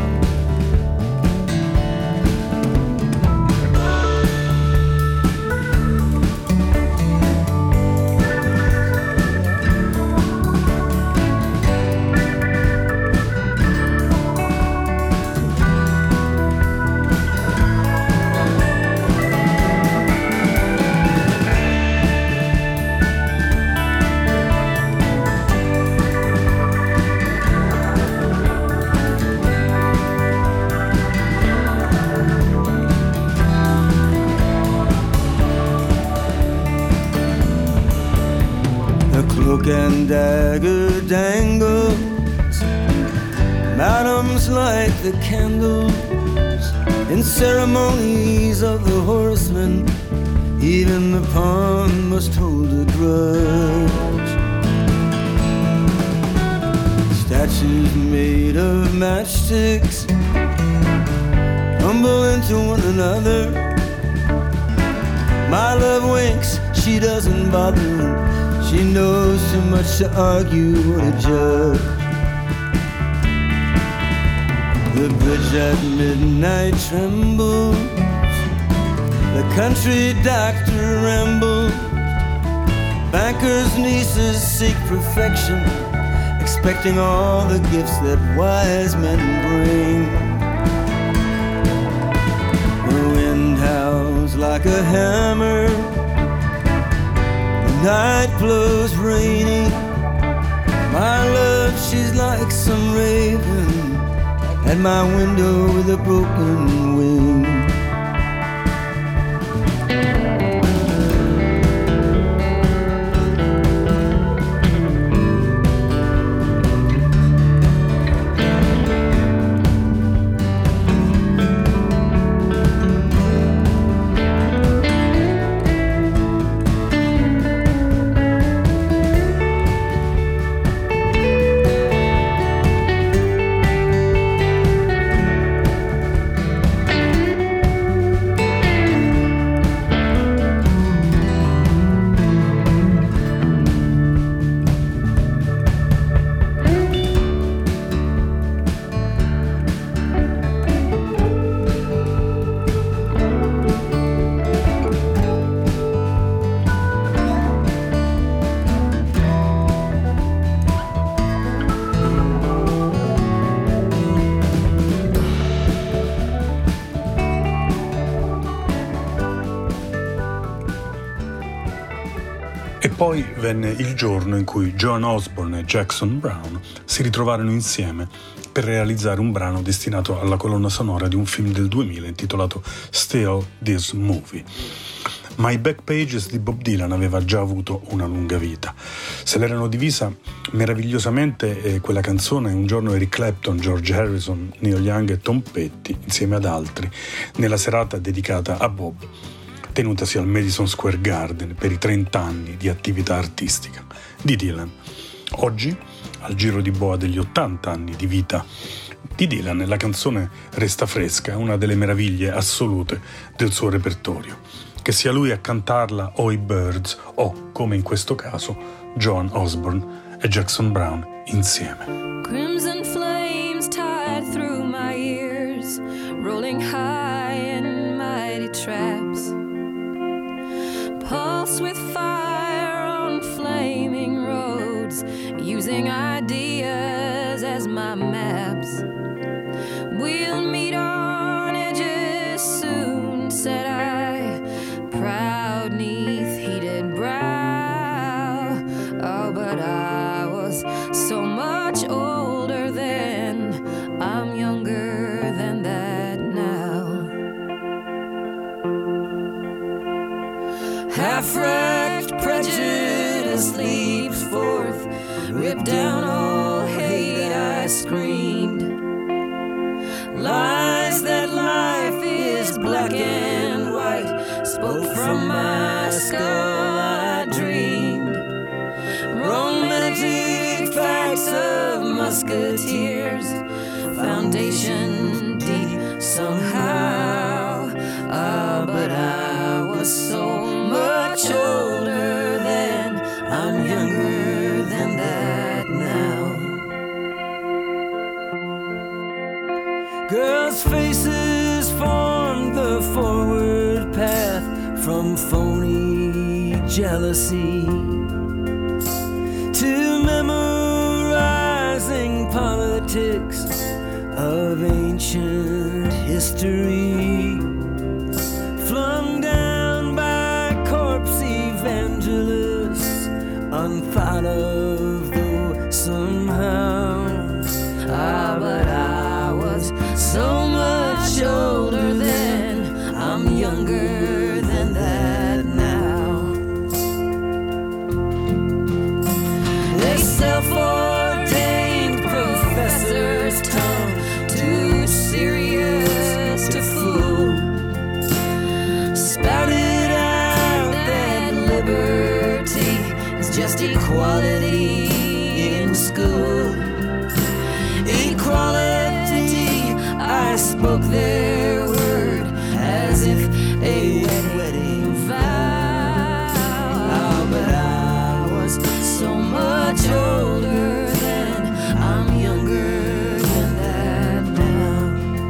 And dagger dangles, madams light the candles in ceremonies of the horsemen. Even the pawn must hold a grudge. Statues made of matchsticks tumble into one another. My love winks, she doesn't bother. She knows too much to argue or to judge. The bridge at midnight trembles, the country doctor rambles. Bankers' nieces seek perfection, expecting all the gifts that wise men bring. The wind howls like a hammer, night blows rainy. My love, she's like some raven at my window with a broken wing. Poi venne il giorno in cui Joan Osborne e Jackson Browne si ritrovarono insieme per realizzare un brano destinato alla colonna sonora di un film del duemila intitolato Still This Movie. Ma i Backpages di Bob Dylan aveva già avuto una lunga vita. Se l'erano divisa meravigliosamente eh, quella canzone un giorno Eric Clapton, George Harrison, Neil Young e Tom Petty, insieme ad altri, nella serata dedicata a Bob, tenutasi al Madison Square Garden per i trenta anni di attività artistica di Dylan. Oggi, al giro di boa degli ottanta anni di vita di Dylan, la canzone resta fresca, una delle meraviglie assolute del suo repertorio. Che sia lui a cantarla o i Byrds o, come in questo caso, Joan Osborne e Jackson Browne insieme. Crimson flames tied through my ears, rolling high in mighty traps. Pulse with fire on flaming roads, using ideas as my maps. We'll meet on edges soon, said I, proud neath heated brow. Oh, but I was so much older then, I'm younger than that now. Half-wrecked prejudice leaps forth, ripped down all hate, I screamed. Lies that life is black and white, spoke from my skull, I dreamed. Romantic facts of musketeers, foundation deep somehow. Ah, but I was so much older then, I'm younger than that now. Girls' faces formed the forward path from phony jealousy to memorizing politics of ancient history, flung down by corpse evangelists, unthought of though somehow. Ah, but I was so much older then, I'm younger than that now. The self-ordained professor's tongue, too serious to fool, spouted out that liberty is just equality in school. Equality, I spoke their word as if a wet wedding vow. Oh, but I was so much older then, I'm younger than that now.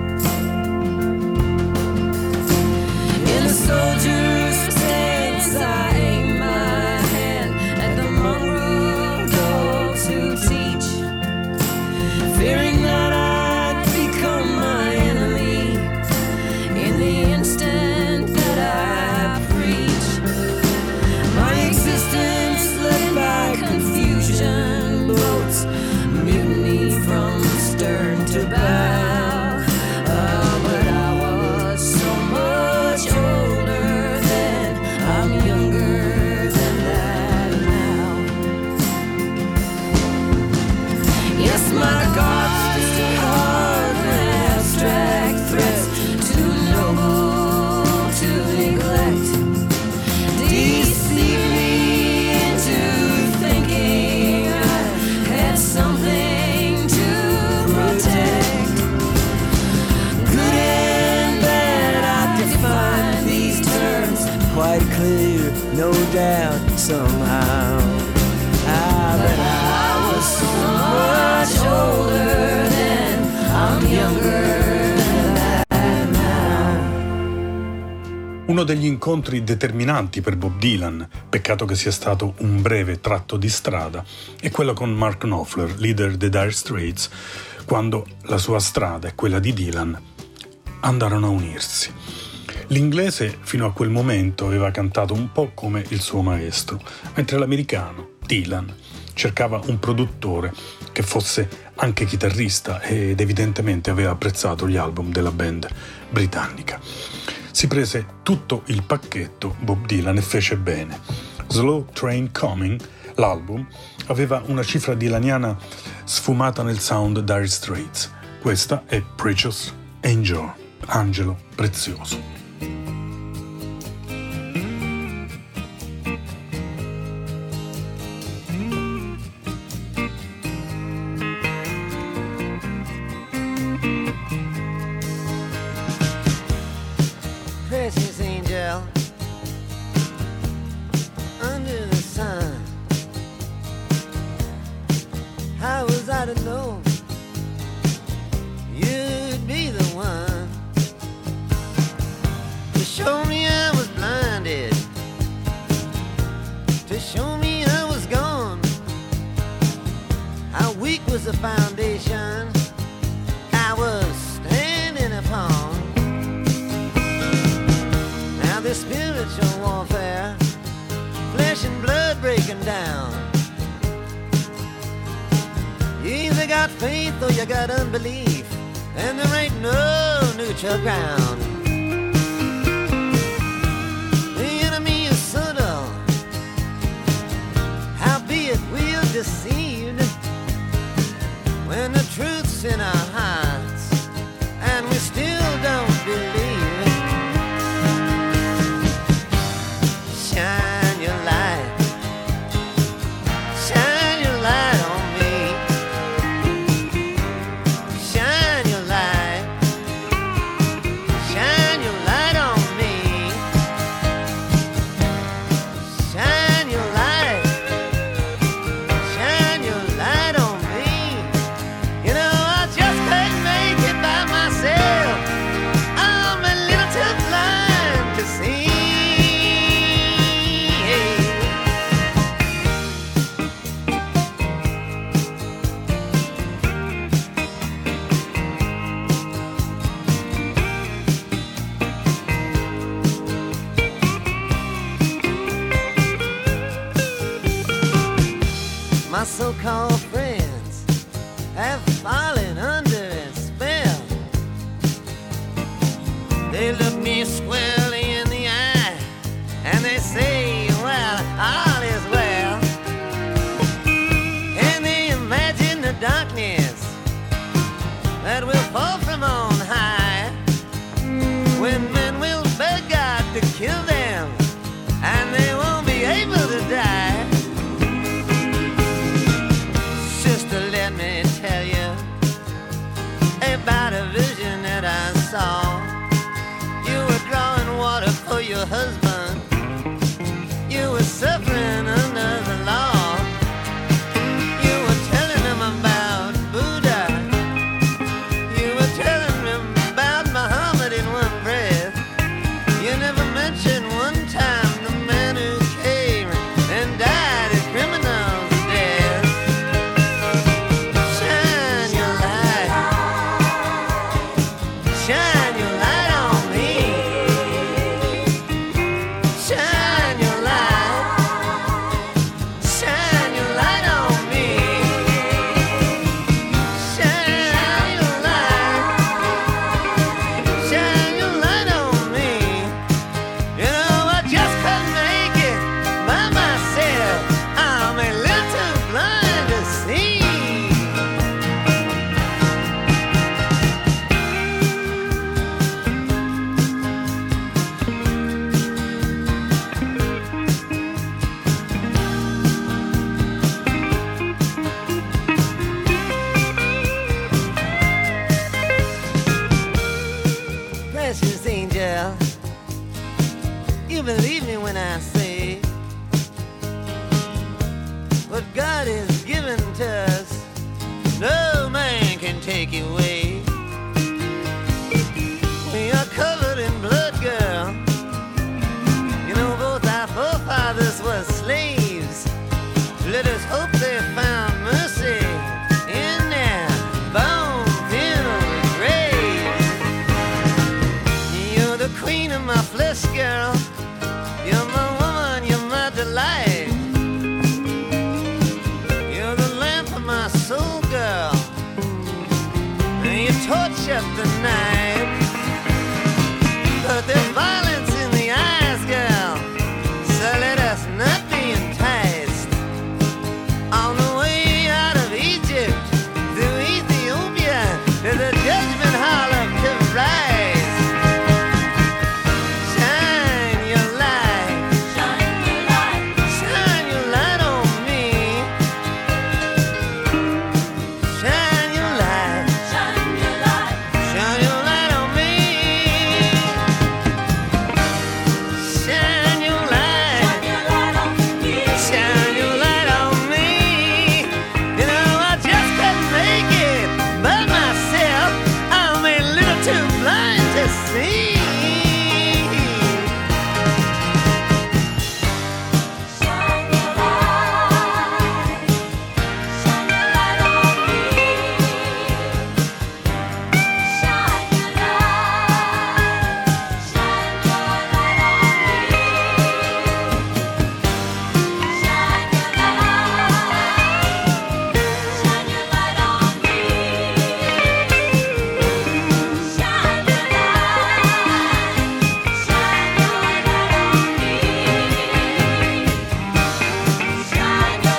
In a soldier's stance, I aim my hand at the mongrel dogs who teach, fearing that I'd become my enemy in the instant that I preach. My existence led by confusion, boats mutiny from stern to bow. Oh, but I was so much older then, I'm younger than that now. Yes, my God's too hard and abstract threats, too noble to neglect, deceive me into thinking I had something to protect. Good and bad, I define these terms Quite clear, no doubt, somehow. Ah, but I was so much older then, I'm younger than that now. Uno degli incontri determinanti per Bob Dylan, peccato che sia stato un breve tratto di strada, è quello con Mark Knopfler, leader dei Dire Straits, quando la sua strada e quella di Dylan andarono a unirsi. L'inglese fino a quel momento aveva cantato un po' come il suo maestro, mentre l'americano, Dylan, cercava un produttore che fosse anche chitarrista ed evidentemente aveva apprezzato gli album della band britannica. Si prese tutto il pacchetto Bob Dylan e fece bene. Slow Train Coming, l'album, aveva una cifra dylaniana sfumata nel sound Dire Straits. Questa è Precious Angel, angelo prezioso. Precious angel under the sun. How was I to know you'd be the one to show me I was blinded, to show me I was gone? How weak was the foundation I was standing upon? Now this spiritual warfare, flesh and blood breaking down. You either got faith or you got unbelief, and there ain't no neutral ground. The enemy is subtle, howbeit we're deceived when the truth's in our hearts and we still don't believe. Shine your light, shine your light on me. Shine your light, shine your light on me. Shine your light, shine your light on me. You know I just couldn't make it by myself. I'm a little too blind to see. My so-called friends have fallen under a spell. They look me squarely in the eye and they say, well, all is well. And they imagine the darkness that will fall from on high, when men will beg God to kill them and they won't be able to die. Sister, let me tell you about a vision that I saw. You were drawing water for your husband. You were suffering under the law. You were telling him about Buddha. You were telling him about Muhammad in one breath. You never mentioned one time the man who came and died a criminal's death. Shine your light, shine your light on me. Shine your light, shine your light on me. Shine your light, shine your light on me. You know I just couldn't make it by myself. I'm a little too blind to see. Precious angel, you believe me when I say what God has given to us, no man can take away. We are covered in blood, girl. You know both our forefathers were slaves. Let us hope they found mercy in their bone-filled graves. You're the queen of my torch of the night. But there's violence in the eyes, girl, so let us not be enticed. On the way out of Egypt through Ethiopia, there's a judgment hall of to rise. Shine your light, shine your light, shine your light on me. Shine your light, shine your light, shine your light on me. Shine your light, shine your light on me. You know I just couldn't make it by myself. I'm a little too blind to see. Shine your light, shine your light on me. Shine your light, shine your light on me. Shine your light, shine your light on me. Shine your light, shine your light on me. Shine your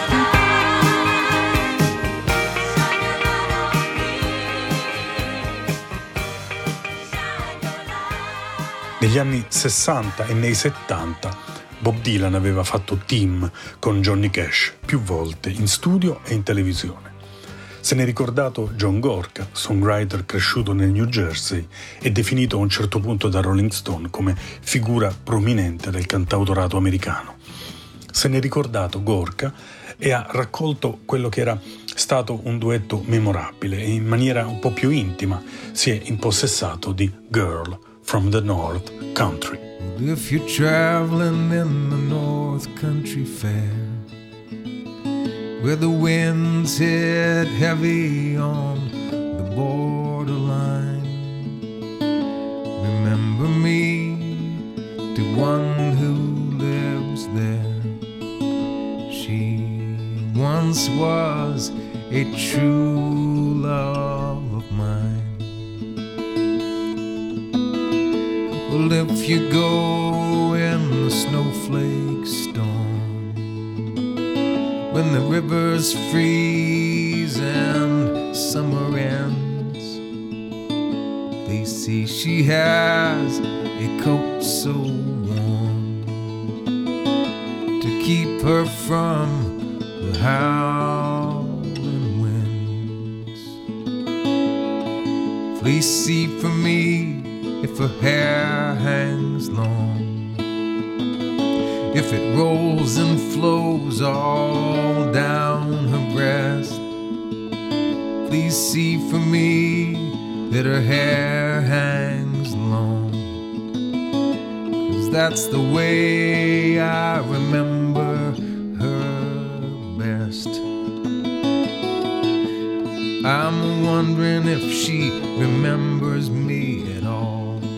Negli anni sessanta e nei settanta Bob Dylan aveva fatto team con Johnny Cash più volte in studio e in televisione. Se n'è ricordato John Gorka, songwriter cresciuto nel New Jersey e definito a un certo punto da Rolling Stone come figura prominente del cantautorato americano. Se n'è ricordato Gorka e ha raccolto quello che era stato un duetto memorabile e in maniera un po' più intima si è impossessato di Girl from the North Country. If you're traveling in the North Country Fair, where the winds hit heavy on the borderline, remember me to one who lives there. She once was a true love of mine. Well, if you go in the snowflake storm, when the rivers freeze and summer ends, they see she has a coat so warm to keep her from the howling winds. Fleecy for me if her hair hangs long, if it rolls and flows all down her breast. Please see for me that her hair hangs long, 'cause that's the way I remember her best. I'm wondering if she remembers me at all.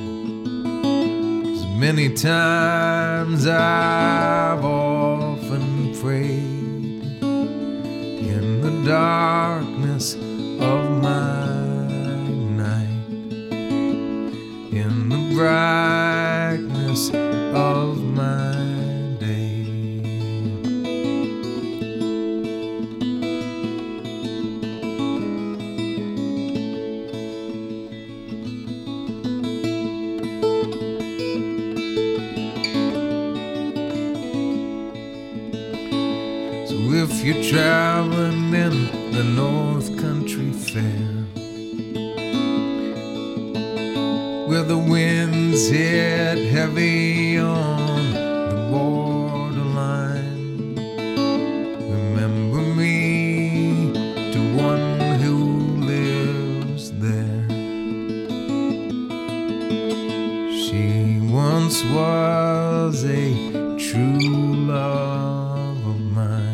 Many times I've often prayed in the darkness of my night, in the brightness of my day. If you're traveling in the North Country Fair, where the winds hit heavy on the borderline, remember me to one who lives there. She once was a true love of mine.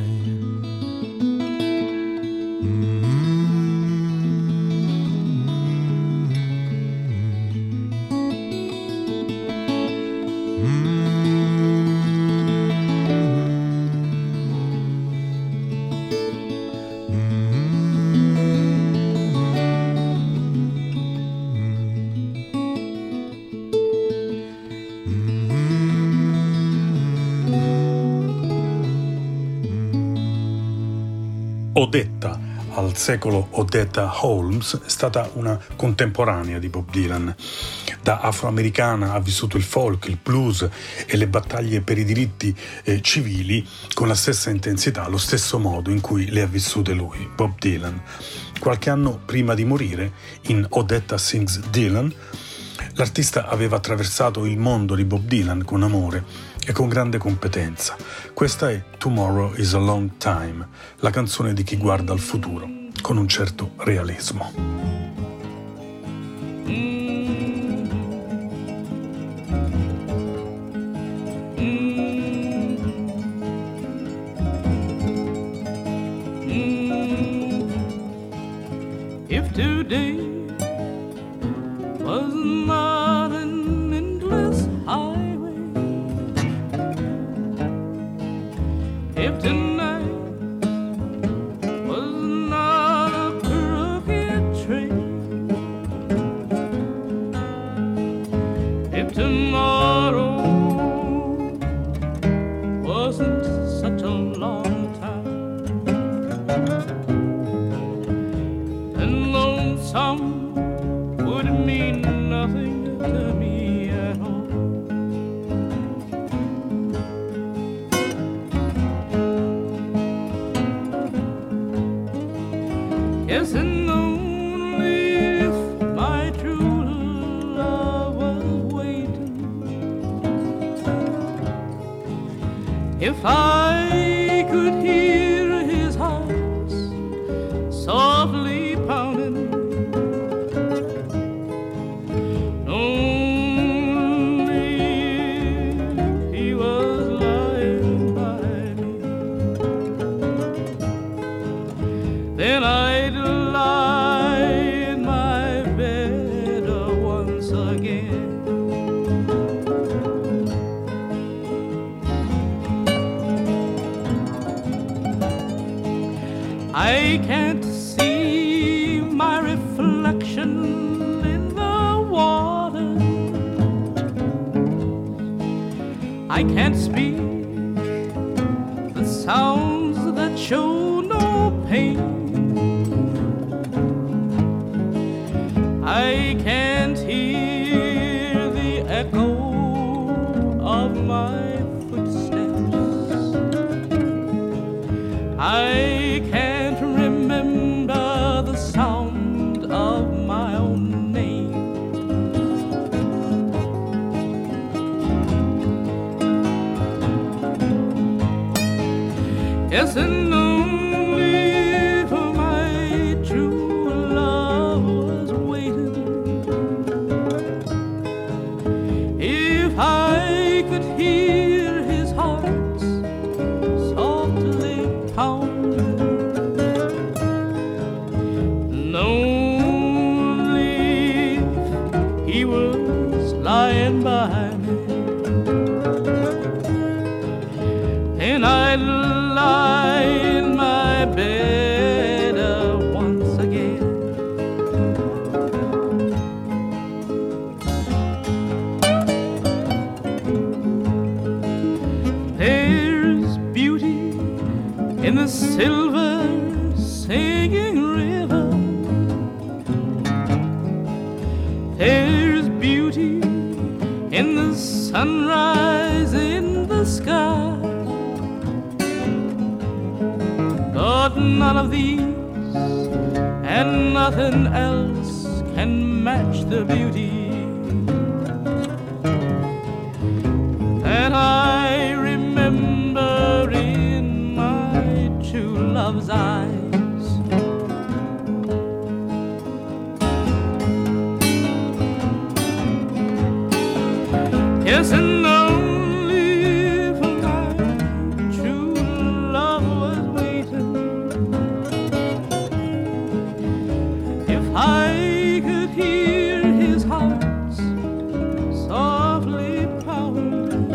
Odetta, al secolo Odetta Holmes, è stata una contemporanea di Bob Dylan. Da afroamericana ha vissuto il folk, il blues e le battaglie per i diritti eh, civili con la stessa intensità, lo stesso modo in cui le ha vissute lui, Bob Dylan. Qualche anno prima di morire, in Odetta Sings Dylan, l'artista aveva attraversato il mondo di Bob Dylan con amore e con grande competenza. Questa è Tomorrow is a Long Time, la canzone di chi guarda al futuro con un certo realismo. If today was not an endless highway, if tonight was not a crooked train, if tomorrow wasn't such a long time, then lonesome would mean nothing to me at all. Guessing only if my true love was waiting, if I could hear his heart softly pounding, then I'd lie in my bed uh, once again. I can't see my reflection in the water, I can't speak the sounds that show no pain, I can't hear the echo of my footsteps, I can't remember the sound of my own name. Yes, and only for my true love was waiting, if I could hear his heart softly pounding, and only if he was lying by me, and I'd lie in my bed uh, once again. There's beauty in the silver singing river, there's beauty in the sunrise in the sky, but none of these and nothing else can match the beauty that I remember in my true love's eyes. Yes, and only for my true love was waiting, if I could hear his heart softly pounding,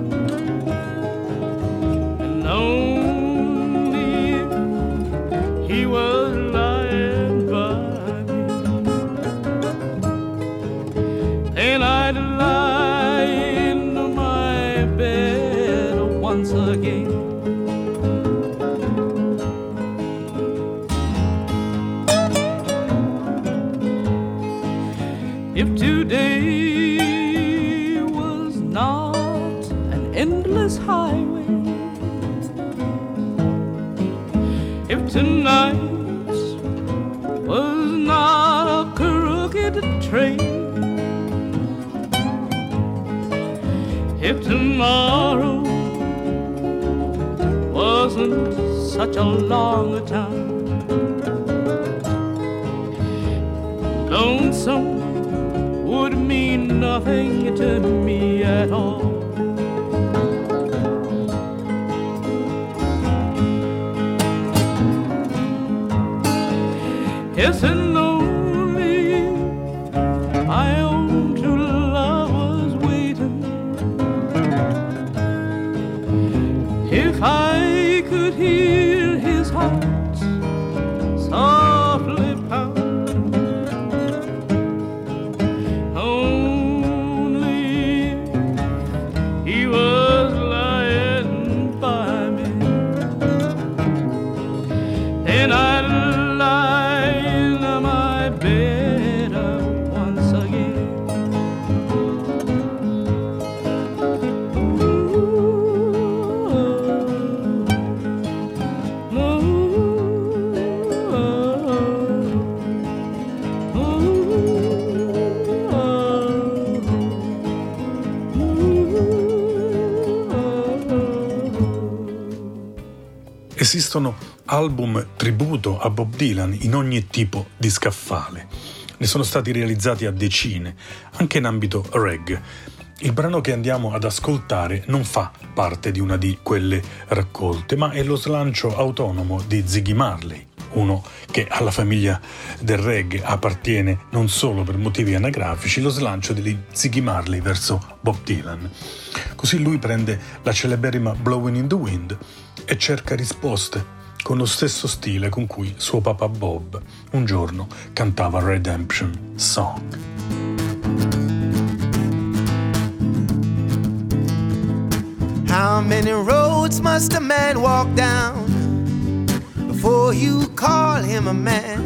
and only if he was lying by me, then I'd lie in If today was not an endless highway, if tonight was not a crooked train, if tomorrow wasn't such a long time, lonesome would mean nothing to me at all. Yes, and only my own true love was waiting. If I could hear his heart softly pound, only he was lying by me, then I'd lie in my bed once again. Esistono album tributo a Bob Dylan in ogni tipo di scaffale. Ne sono stati realizzati a decine, anche in ambito reggae. Il brano che andiamo ad ascoltare non fa parte di una di quelle raccolte, ma è lo slancio autonomo di Ziggy Marley, uno che alla famiglia del reggae appartiene non solo per motivi anagrafici, lo slancio di Ziggy Marley verso Bob Dylan. Così lui prende la celeberrima Blowing in the Wind e cerca risposte con lo stesso stile con cui suo papà Bob un giorno cantava Redemption Song. How many roads must a man walk down before you call him a man?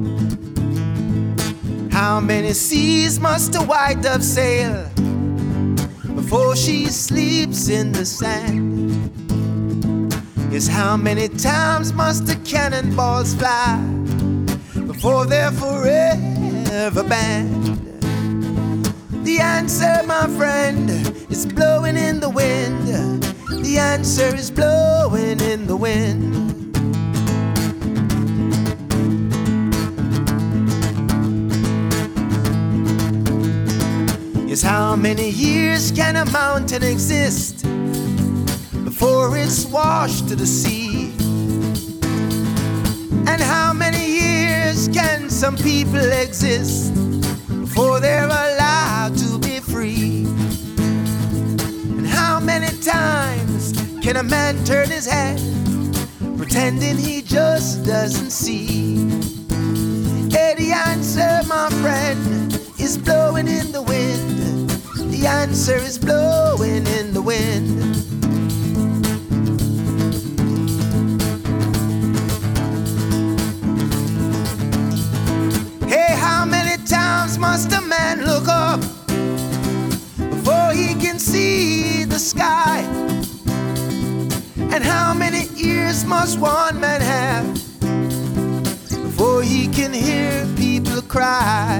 How many seas must a white dove sail before she sleeps in the sand? Yes, how many times must the cannonballs fly before they're forever banned? The answer, my friend, is blowing in the wind. The answer is blowing in the wind. Yes, how many years can a mountain exist before it's washed to the sea? And how many years can some people exist before they're allowed to be free? And how many times can a man turn his head pretending he just doesn't see? Yeah, the answer, my friend, is blowing in the wind. The answer is blowing in the wind. Must a man look up before he can see the sky? And how many ears must one man have before he can hear people cry?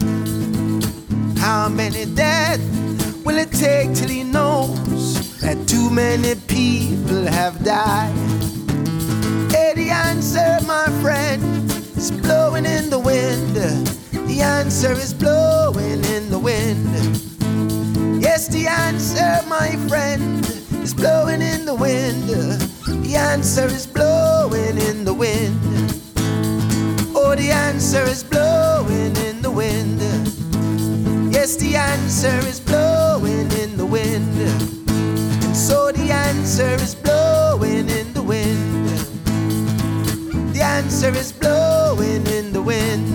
How many deaths will it take till he knows that too many people have died? Hey, the answer, my friend, is blowing in the wind. The answer is blowing in the wind. Yes, the answer, my friend, is blowing in the wind. The answer is blowing in the wind. Oh, the answer is blowing in the wind. Yes, the answer is blowing in the wind. And so the answer is blowing in the wind. The answer is blowing in the wind.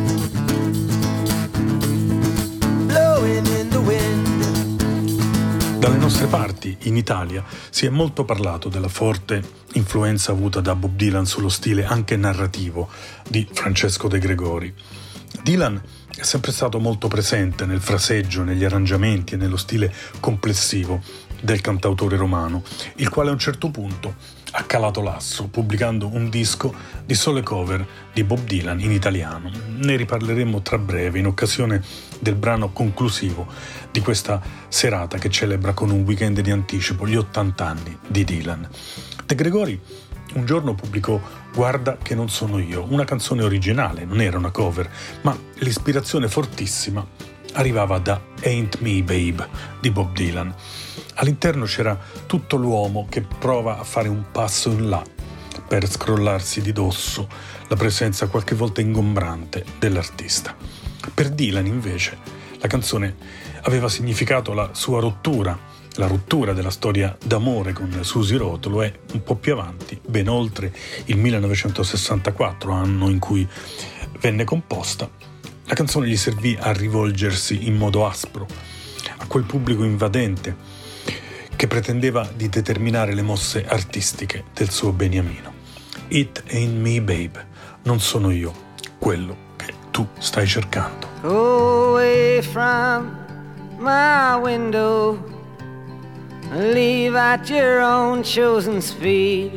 Dalle nostre parti, in Italia, si è molto parlato della forte influenza avuta da Bob Dylan sullo stile anche narrativo di Francesco De Gregori. Dylan è sempre stato molto presente nel fraseggio, negli arrangiamenti e nello stile complessivo del cantautore romano, il quale a un certo punto ha calato l'asso pubblicando un disco di sole cover di Bob Dylan in italiano. Ne riparleremo tra breve in occasione del brano conclusivo di questa serata che celebra con un weekend di anticipo gli ottanta anni di Dylan. De Gregori un giorno pubblicò Guarda che non sono io, una canzone originale, non era una cover, ma l'ispirazione fortissima arrivava da Ain't Me Babe di Bob Dylan. All'interno c'era tutto l'uomo che prova a fare un passo in là per scrollarsi di dosso la presenza qualche volta ingombrante dell'artista. Per Dylan invece la canzone aveva significato la sua rottura, la rottura della storia d'amore con Susie Rotolo e un po' più avanti, ben oltre il millenovecentosessantaquattro, anno in cui venne composta, la canzone gli servì a rivolgersi in modo aspro a quel pubblico invadente che pretendeva di determinare le mosse artistiche del suo beniamino. It ain't me, babe, non sono io quello che tu stai cercando. Go away from my window, leave at your own chosen speed.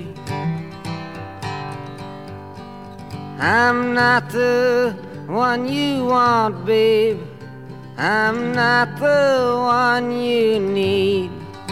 I'm not the one you want, babe, I'm not the one you need.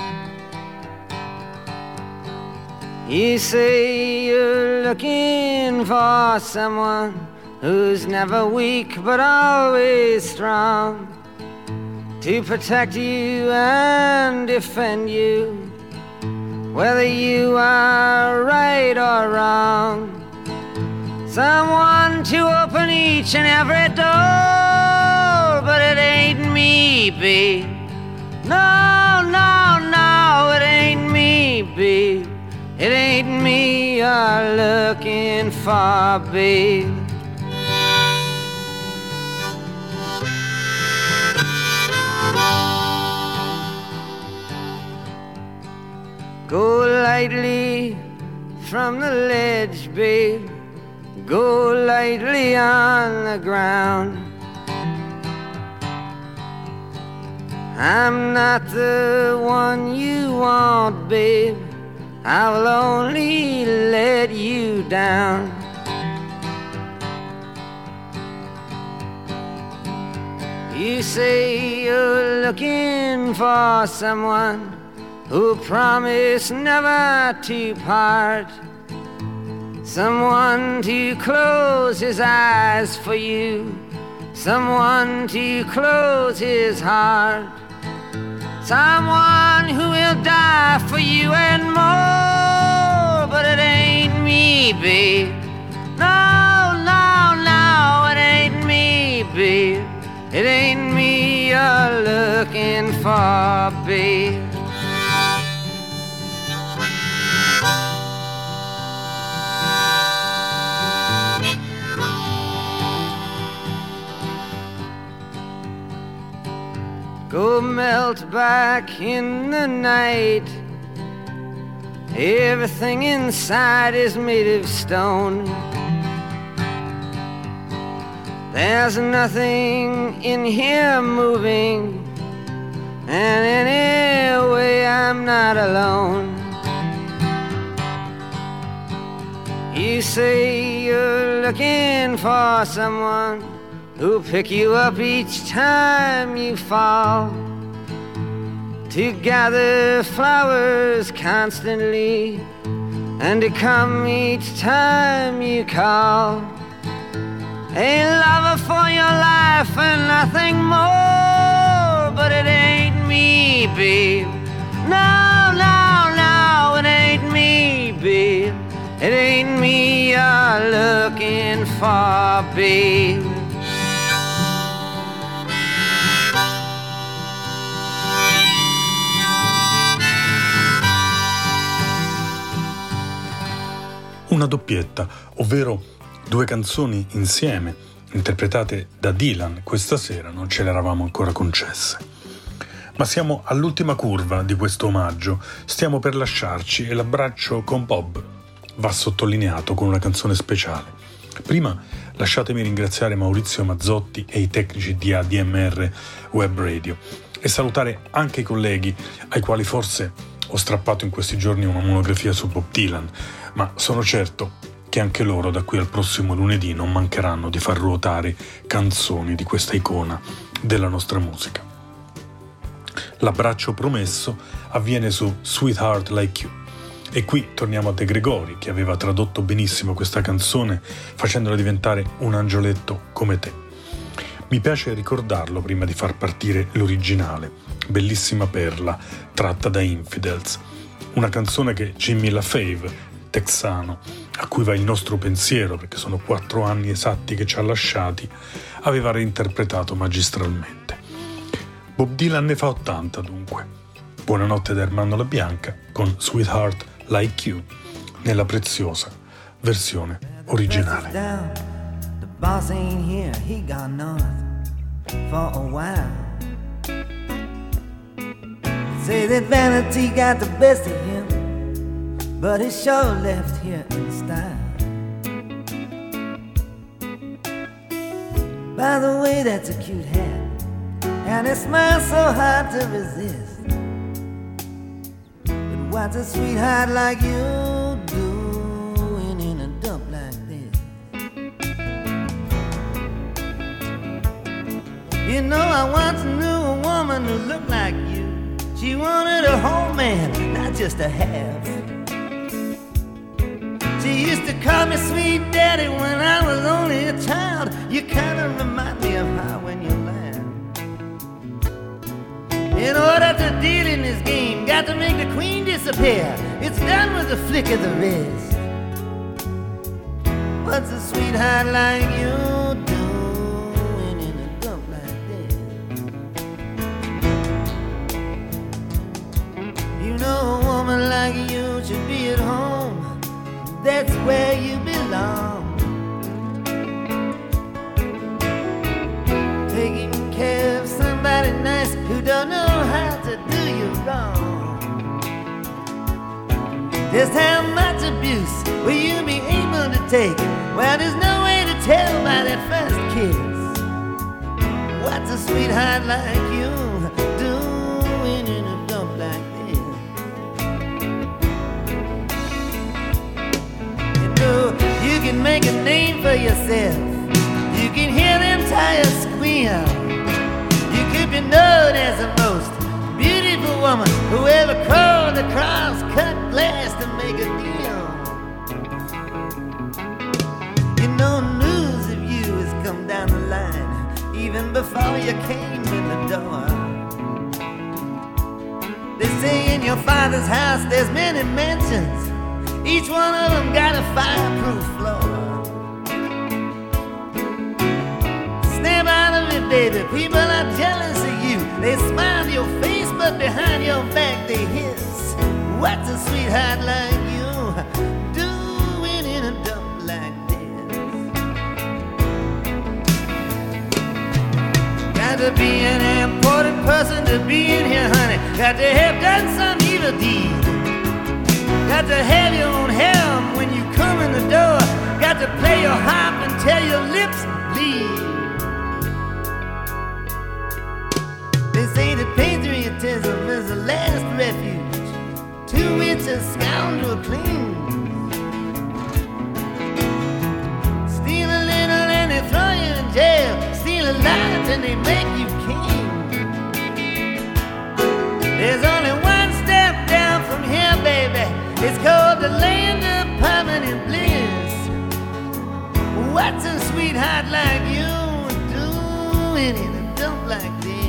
You say you're looking for someone who's never weak but always strong, to protect you and defend you, whether you are right or wrong. Someone to open each and every door, but it ain't me, babe. No, no, no, it ain't me, babe. It ain't me you're looking for, babe. Go lightly from the ledge, babe. Go lightly on the ground. I'm not the one you want, babe, I will only let you down. You say you're looking for someone who promised never to part, someone to close his eyes for you, someone to close his heart, someone who will die for you and more, but it ain't me, babe. No, no, no, it ain't me, babe. It ain't me you're looking for, babe. Go melt back in the night. Everything inside is made of stone. There's nothing in here moving, and anyway I'm not alone. You say you're looking for someone who'll pick you up each time you fall, to gather flowers constantly, and to come each time you call. A lover for your life and nothing more, but it ain't me, babe. No, no, no, it ain't me, babe. It ain't me you're looking for, babe. Una doppietta, ovvero due canzoni insieme, interpretate da Dylan, questa sera non ce le eravamo ancora concesse. Ma siamo all'ultima curva di questo omaggio, stiamo per lasciarci e l'abbraccio con Bob va sottolineato con una canzone speciale. Prima lasciatemi ringraziare Maurizio Mazzotti e i tecnici di A D M R Web Radio e salutare anche i colleghi ai quali forse ho strappato in questi giorni una monografia su Bob Dylan, ma sono certo che anche loro da qui al prossimo lunedì non mancheranno di far ruotare canzoni di questa icona della nostra musica. L'abbraccio promesso avviene su Sweetheart Like You. E qui torniamo a De Gregori, che aveva tradotto benissimo questa canzone facendola diventare un angioletto come te. Mi piace ricordarlo prima di far partire l'originale, bellissima perla tratta da Infidels, una canzone che Jimmy LaFave, texano, a cui va il nostro pensiero perché sono quattro anni esatti che ci ha lasciati, aveva reinterpretato magistralmente. Bob Dylan ne fa ottanta dunque. Buonanotte da Ermanno La Bianca con Sweetheart Like You nella preziosa versione originale. The boss ain't here, he got north for a while. Say that vanity got the best of him, but he sure left here in style. By the way, that's a cute hat, and it smiles so hard to resist. What's a sweetheart like you doing in a dump like this? You know, I once knew a woman who looked like you. She wanted a whole man, not just a half. She used to call me sweet daddy when I was only a child. You kinda remind me of her when you laugh. In order to deal in this game, got to make the queen disappear. It's done with a flick of the wrist. What's a sweetheart like you doing in a dump like this? You know a woman like you should be at home. That's where you belong. Taking care of somebody nice who don't know how to do you wrong. Just how much abuse will you be able to take? Well, there's no way to tell by that first kiss. What's a sweetheart like you doing in a dump like this? You know, you can make a name for yourself. You can hear them tires squeal. You could be known as the most beautiful woman who ever crawled across cut glass to make a deal. You know, news of you has come down the line even before you came in the door. They say in your father's house there's many mansions. Each one of them got a fireproof floor. Snap out of it, baby, people are jealous of you. They smile to your face, but behind your back they hiss. What's a sweetheart like you doing in a dump like this? Got to be an important person to be in here, honey. Got to have done some evil deed. Got to have your own helm when you come in the door. Got to play your harp until your lips bleed. They say that patriotism is the last refuge to which a scoundrel clings. Steal a little and they throw you in jail. Steal a lot and they make you king. There's only one step down from here, baby. It's called the land of permanent bliss. What's a sweetheart like you doing in a dump like this?